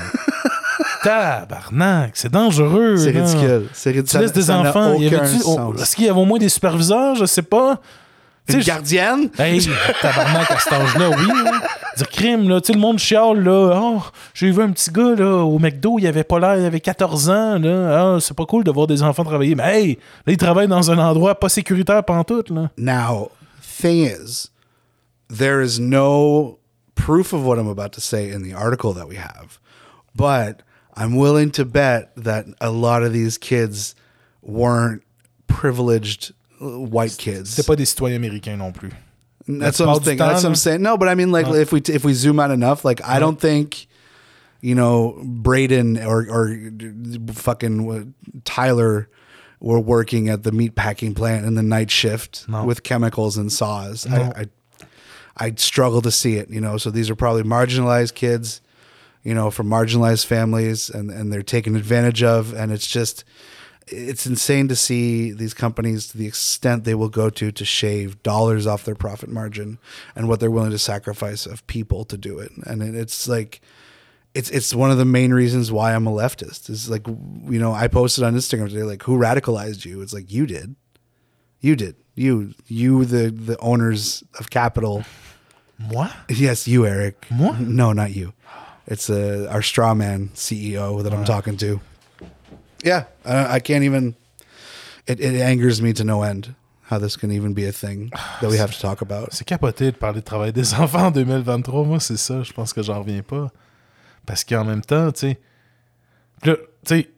Tabarnak, c'est dangereux. C'est là. ridicule. C'est ridicule. Tu laisses des Ça n'a enfants. Y aucun avait-tu- oh, sens. est-ce qu'il y avait au moins des superviseurs? Je sais pas. Tu Une sais, gardienne? je- Hey, tabarnak, à cet âge-là, oui. Hein. Dire crime, là. Tu sais, le monde chiale, là. Oh, j'ai vu un petit gars, là, au McDo, il avait pas l'air, il avait quatorze ans, là. Ah, c'est pas cool de voir des enfants travailler. Mais hey, là, il travaille dans un endroit pas sécuritaire pantoute, là. Now, thing is, there is no proof of what I'm about to say in the article that we have, but I'm willing to bet that a lot of these kids weren't privileged uh, white kids. C'était pas des citoyens américains non plus. That's La what I'm plupart du thinking. temps, That's what I'm là. saying. No, but I mean, like, No. if we t- if we zoom out enough, like, I don't think, you know, Braden or or fucking Tyler were working at the meat packing plant in the night shift No. with chemicals and saws. No. I, I I struggle to see it. You know, so these are probably marginalized kids, you know, from marginalized families, and and they're taken advantage of, and it's just. It's insane to see these companies to the extent they will go to to shave dollars off their profit margin and what they're willing to sacrifice of people to do it. And it, it's like, it's it's one of the main reasons why I'm a leftist. Is like, you know, I posted on Instagram today, like, who radicalized you? It's like, you did, you did, you, you, the the owners of capital. Moi? Yes, you, Eric. Moi? No, not you. It's uh, our straw man C E O that I'm talking to. Yeah, I, I can't even. It, it angers me to no end how this can even be a thing that we have to talk about. C'est capoté de parler de travail des enfants en deux mille vingt-trois. Moi, c'est ça. Je pense que j'en reviens pas. Parce qu'en même temps, tu sais. Là, tu sais,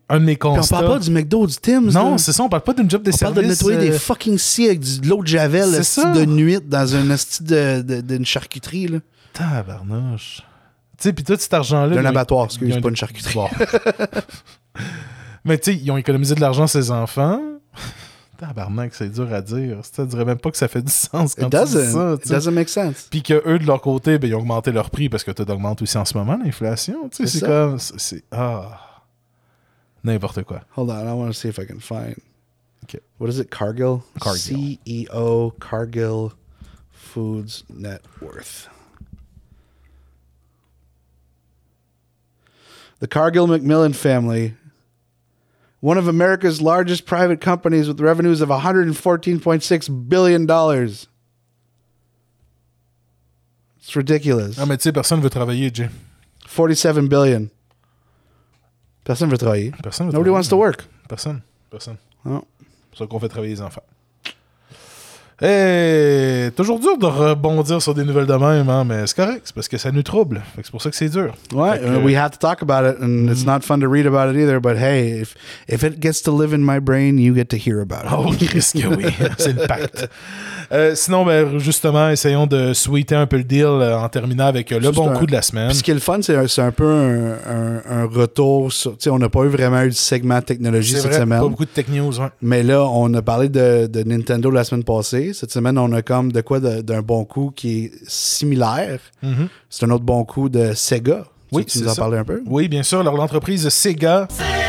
un de mes Puis on constats... parle pas du McDo, du Tim's. Non, là. c'est ça, on parle pas d'une job de On service. parle de nettoyer euh, des fucking scies avec du- de l'eau de Javel, C'est esti ça. de nuit, dans un esti de, de, d'une charcuterie. Là. Tabarnouche. Tu sais, puis tout cet argent-là... D'un ils ont- abattoir, excuse, ils ont- pas une charcuterie. Bon. Mais tu sais, ils ont économisé de l'argent ses enfants. Tabarnak, c'est dur à dire. Tu dirais même pas que ça fait du sens quand It tu dis doesn't. ça. It tu sais. doesn't make sense. Puis que eux de leur côté, ben, ils ont augmenté leur prix parce que tout augmente aussi en ce moment, l'inflation. Tu sais, C'est c'est ça. comme... C'est... c'est- Ah... N'importe quoi. Hold on, I want to see if I can find. Okay. What is it? Cargill? Cargill. C E O, Cargill Foods Net Worth. The Cargill Macmillan family, one of America's largest private companies with revenues of one hundred fourteen point six billion dollars. It's ridiculous. Ah, mais tu sais, personne veut travailler, Jay. forty-seven billion. Personne veut travailler. Personne veut Nobody travailler. wants to work. Personne. Personne. Oh. C'est pour ça qu'on fait travailler les enfants. Et toujours dur de rebondir sur des nouvelles de même, hein, mais c'est correct, c'est parce que ça nous trouble. Fait que c'est pour ça que c'est dur. Ouais, Fait que, uh, we have to talk about it, and it's not fun to read about it either. But hey, if if it gets to live in my brain, you get to hear about it. Oh, Chris, que oui, c'est le pacte. Euh, sinon, ben, justement, essayons de sweeter un peu le deal euh, en terminant avec euh, le Juste bon un- coup de la semaine. Puis ce qui est le fun, c'est un, c'est un peu un, un, un retour sur. Tu sais, on n'a pas eu vraiment eu de segment technologie C'est cette vrai, semaine. pas beaucoup de tech news. Ouais. Mais là, on a parlé de, de Nintendo la semaine passée. Cette semaine, on a comme de quoi de- d'un bon coup qui est similaire. Mhm. C'est un autre bon coup de Sega. Oui, tu, tu nous c'est en ça. parlais un peu? Oui, bien sûr. Alors, l'entreprise Sega,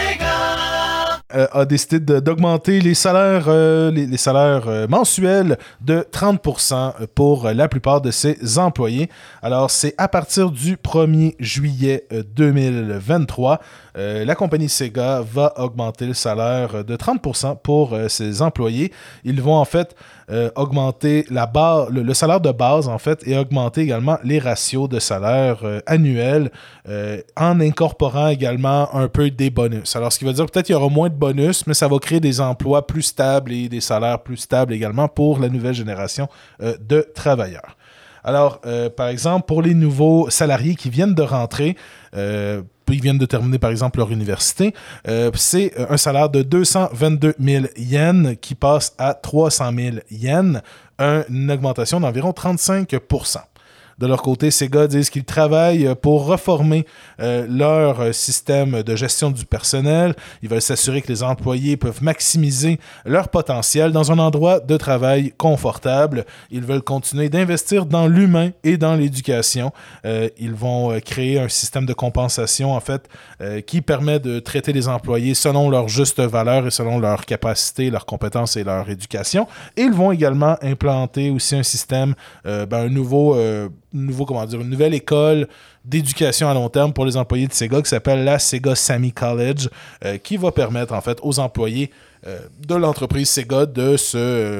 euh, a décidé de- d'augmenter les salaires, euh, les, les salaires euh, mensuels de trente pour cent pour euh, la plupart de ses employés. Alors, c'est à partir du premier juillet euh, deux mille vingt-trois. Euh, la compagnie Sega va augmenter le salaire de trente pour cent pour euh, ses employés. Ils vont en fait euh, augmenter la barre, le, le salaire de base en fait et augmenter également les ratios de salaire euh, annuels euh, en incorporant également un peu des bonus. Alors ce qui veut dire peut-être qu'il y aura moins de bonus, mais ça va créer des emplois plus stables et des salaires plus stables également pour la nouvelle génération euh, de travailleurs. Alors, euh, par exemple, pour les nouveaux salariés qui viennent de rentrer, euh, ils viennent de terminer, par exemple, leur université, euh, c'est un salaire de deux cent vingt-deux mille yens qui passe à trois cent mille yens, une augmentation d'environ trente-cinq pour cent. De leur côté, Sega disent qu'ils travaillent pour reformer euh, leur système de gestion du personnel. Ils veulent s'assurer que les employés peuvent maximiser leur potentiel dans un endroit de travail confortable. Ils veulent continuer d'investir dans l'humain et dans l'éducation. Euh, ils vont euh, créer un système de compensation, en fait, euh, qui permet de traiter les employés selon leur juste valeur et selon leur capacité, leurs compétences et leur éducation. Et ils vont également implanter aussi un système, euh, ben, un nouveau... Euh, nouveau, comment dire, une nouvelle école d'éducation à long terme pour les employés de Sega qui s'appelle la Sega Sammy College, euh, qui va permettre en fait aux employés euh, de l'entreprise Sega de se... Euh,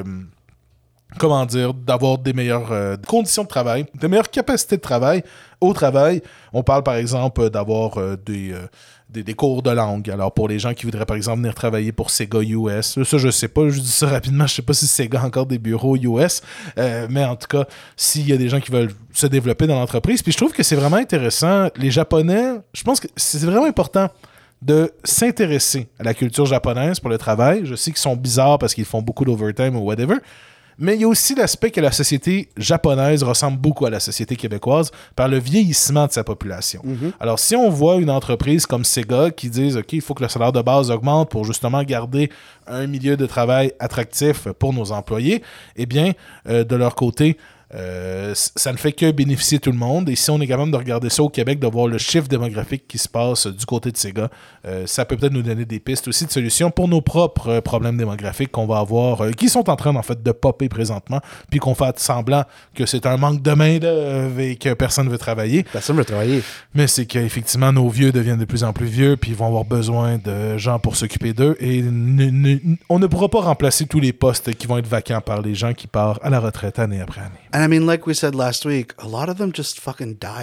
comment dire, d'avoir des meilleures euh, conditions de travail, des meilleures capacités de travail au travail. On parle par exemple d'avoir euh, des... Euh, Des, des cours de langue. Alors, pour les gens qui voudraient, par exemple, venir travailler pour Sega U S, ça, je sais pas, je dis ça rapidement, je sais pas si Sega a encore des bureaux U S, euh, mais en tout cas, s'il y a des gens qui veulent se développer dans l'entreprise, puis je trouve que c'est vraiment intéressant. Les Japonais, je pense que c'est vraiment important de s'intéresser à la culture japonaise pour le travail. Je sais qu'ils sont bizarres parce qu'ils font beaucoup d'overtime ou whatever, mais il y a aussi l'aspect que la société japonaise ressemble beaucoup à la société québécoise par le vieillissement de sa population. Mm-hmm. Alors, si on voit une entreprise comme Sega qui dit « OK, il faut que le salaire de base augmente pour justement garder un milieu de travail attractif pour nos employés », eh bien, euh, de leur côté, Euh, ça ne fait que bénéficier tout le monde. Et si on est capable de regarder ça au Québec, de voir le chiffre démographique qui se passe du côté de Sega, euh, ça peut peut-être nous donner des pistes aussi de solutions pour nos propres euh, problèmes démographiques qu'on va avoir, euh, qui sont en train en fait de popper présentement, puis qu'on fait semblant que c'est un manque de main-d'œuvre et que personne ne veut travailler. Personne ne veut travailler. Mais c'est qu'effectivement, nos vieux deviennent de plus en plus vieux, puis ils vont avoir besoin de gens pour s'occuper d'eux. Et ne, ne, on ne pourra pas remplacer tous les postes qui vont être vacants par les gens qui partent à la retraite année après année. And I mean, like we said last week, a lot of them just fucking died.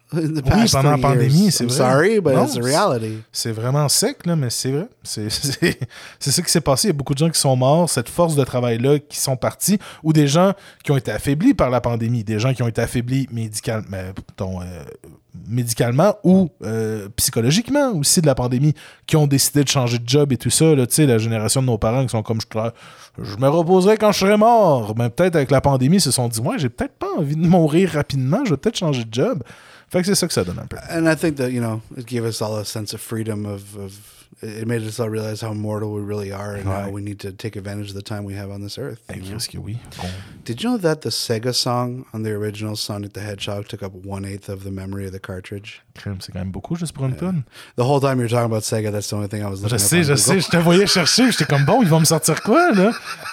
in the Oui, past pendant la three pandémie, years. c'est I'm vrai. sorry, but Non, it's a reality. C'est vraiment sec, là, mais c'est vrai. C'est, c'est, c'est ça qui s'est passé. Il y a beaucoup de gens qui sont morts, cette force de travail-là qui sont partis, ou des gens qui ont été affaiblis par la pandémie, des gens qui ont été affaiblis médical, mais, ton, euh, médicalement ou euh, psychologiquement aussi de la pandémie, qui ont décidé de changer de job et tout ça. Là, la génération de nos parents qui sont comme je, je me reposerai quand je serai mort. Mais peut-être avec la pandémie, ils se sont dit, moi, j'ai peut-être pas envie de mourir rapidement, je vais peut-être changer de job. Fait que c'est ça que ça donne un peu. And I think that, you know, it gave us all a sense of freedom of, of it made us all realize how mortal we really are and Right. how we need to take advantage of the time we have on this earth. Hey, you know? qu'est-ce que oui. Bon. Did you know that the Sega song on the original Sonic the Hedgehog took up one eighth of the memory of the cartridge? Crème, c'est quand même beaucoup juste pour une tonne. The whole time you were talking about Sega, that's the only thing I was looking Je up sais, on je Google. sais, je te voyais chercher, j'étais comme bon, ils vont me sortir quoi, là?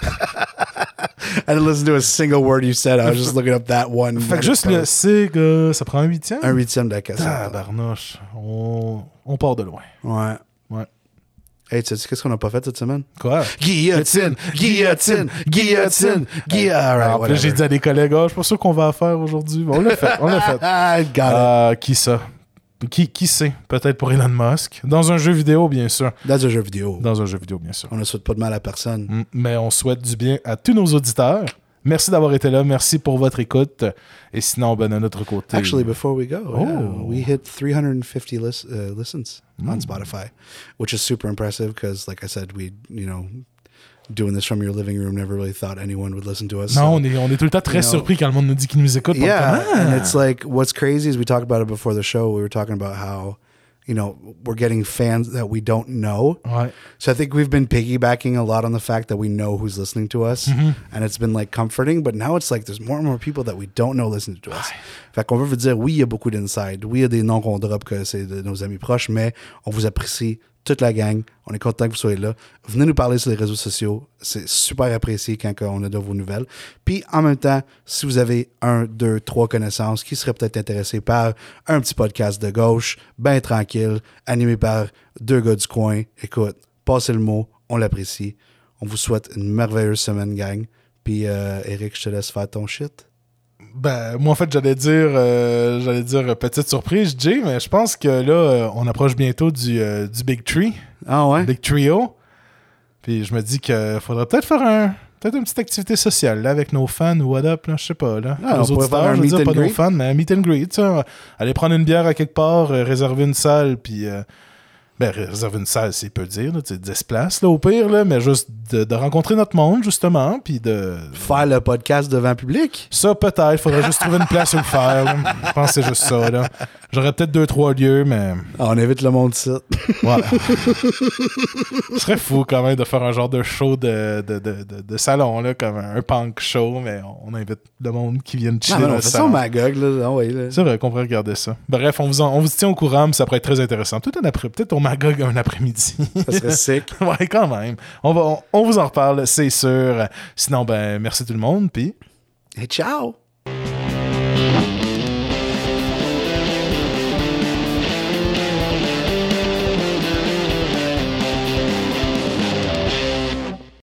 I didn't listen to a single word you said. I was just looking up that one. Fait que juste le Sega, ça prend un huitième? Un huitième de la cassette. Ah, barnouche. On, on part de loin. Ouais. Ouais. Hey, tu sais qu'est-ce qu'on n'a pas fait cette semaine? Quoi? Guillotine, guillotine, guillotine, guillotine. All right, Alors, puis là, j'ai dit à des collègues, ah, je suis pas sûr qu'on va la faire aujourd'hui. Bon, on l'a fait, on l'a fait. I got it. Euh, qui ça? Qui, qui sait? Peut-être pour Elon Musk. Dans un jeu vidéo, bien sûr. Dans un jeu vidéo. Dans un jeu vidéo, bien sûr. On ne souhaite pas de mal à personne. Mm, Mais on souhaite du bien à tous nos auditeurs. Merci d'avoir été là. Merci pour votre écoute. Et sinon, ben, de notre côté... Actually, before we go, Oh. yeah, we hit three hundred fifty lis- uh, listens on Spotify, which is super impressive because, like I said, we, you know, doing this from your living room, never really thought anyone would listen to us. Non, so- on est, on est tout le temps très You know, surpris quand le monde nous dit qu'il nous écoute. Yeah, Comme, and ah! it's like what's crazy is we talked about it before the show. We were talking about how, you know, we're getting fans that we don't know. Ouais. So I think we've been piggybacking a lot on the fact that we know who's listening to us, and it's been like comforting. But now it's like there's more and more people that we don't know listening to us. Fait qu'on veut vous dire, oui, il y a beaucoup d'inside, oui, il y a des noms qu'on drop que c'est de nos amis proches, mais on vous apprécie toute la gang. On est content que vous soyez là. Venez nous parler sur les réseaux sociaux. C'est super apprécié quand on a de vos nouvelles. Puis, en même temps, si vous avez un, deux, trois connaissances qui seraient peut-être intéressés par un petit podcast de gauche, bien tranquille, animé par deux gars du coin, écoute, passez le mot, on l'apprécie. On vous souhaite une merveilleuse semaine, gang. Puis, euh, Eric, je te laisse faire ton shit. Ben, moi, en fait, j'allais dire, euh, j'allais dire euh, petite surprise, Jay, mais je pense que là, euh, on approche bientôt du, euh, du Big Tree, Ah ouais? Big Trio. Puis je me dis qu'il faudrait peut-être faire un, peut-être une petite activité sociale là, avec nos fans ou what up, là, je sais pas. Là. Ah, nos on pourrait faire un je veux meet dire, and pas nos greet. fans, mais un meet and greet. Tu sais, aller prendre une bière à quelque part, euh, réserver une salle, puis. Euh, ben, réserver une salle, c'est peu dire, là, tu sais, dix places, là, au pire, là, mais juste de, de rencontrer notre monde, justement, puis de... Faire le podcast devant le public? Ça, peut-être. Faudrait juste trouver une place où le faire. Là. Je pense que c'est juste ça. Là. J'aurais peut-être deux, trois lieux, mais... Ah, on invite le monde ici. Ouais. Ce serait fou, quand même, de faire un genre de show de, de, de, de, de salon, là, comme un punk show, mais on invite le monde qui vient chiller Non, dans non, le fais ça salon. au Magog, là. Ah ouais, là. C'est vrai qu'on pourrait regarder ça. Bref, on vous, en- on vous tient au courant, mais ça pourrait être très intéressant. Tout un après, peut-être au Magog un après-midi. Ça serait sick. Ouais, quand même. On, va, on, on vous en reparle, c'est sûr. Sinon, ben, merci tout le monde, puis... Et ciao!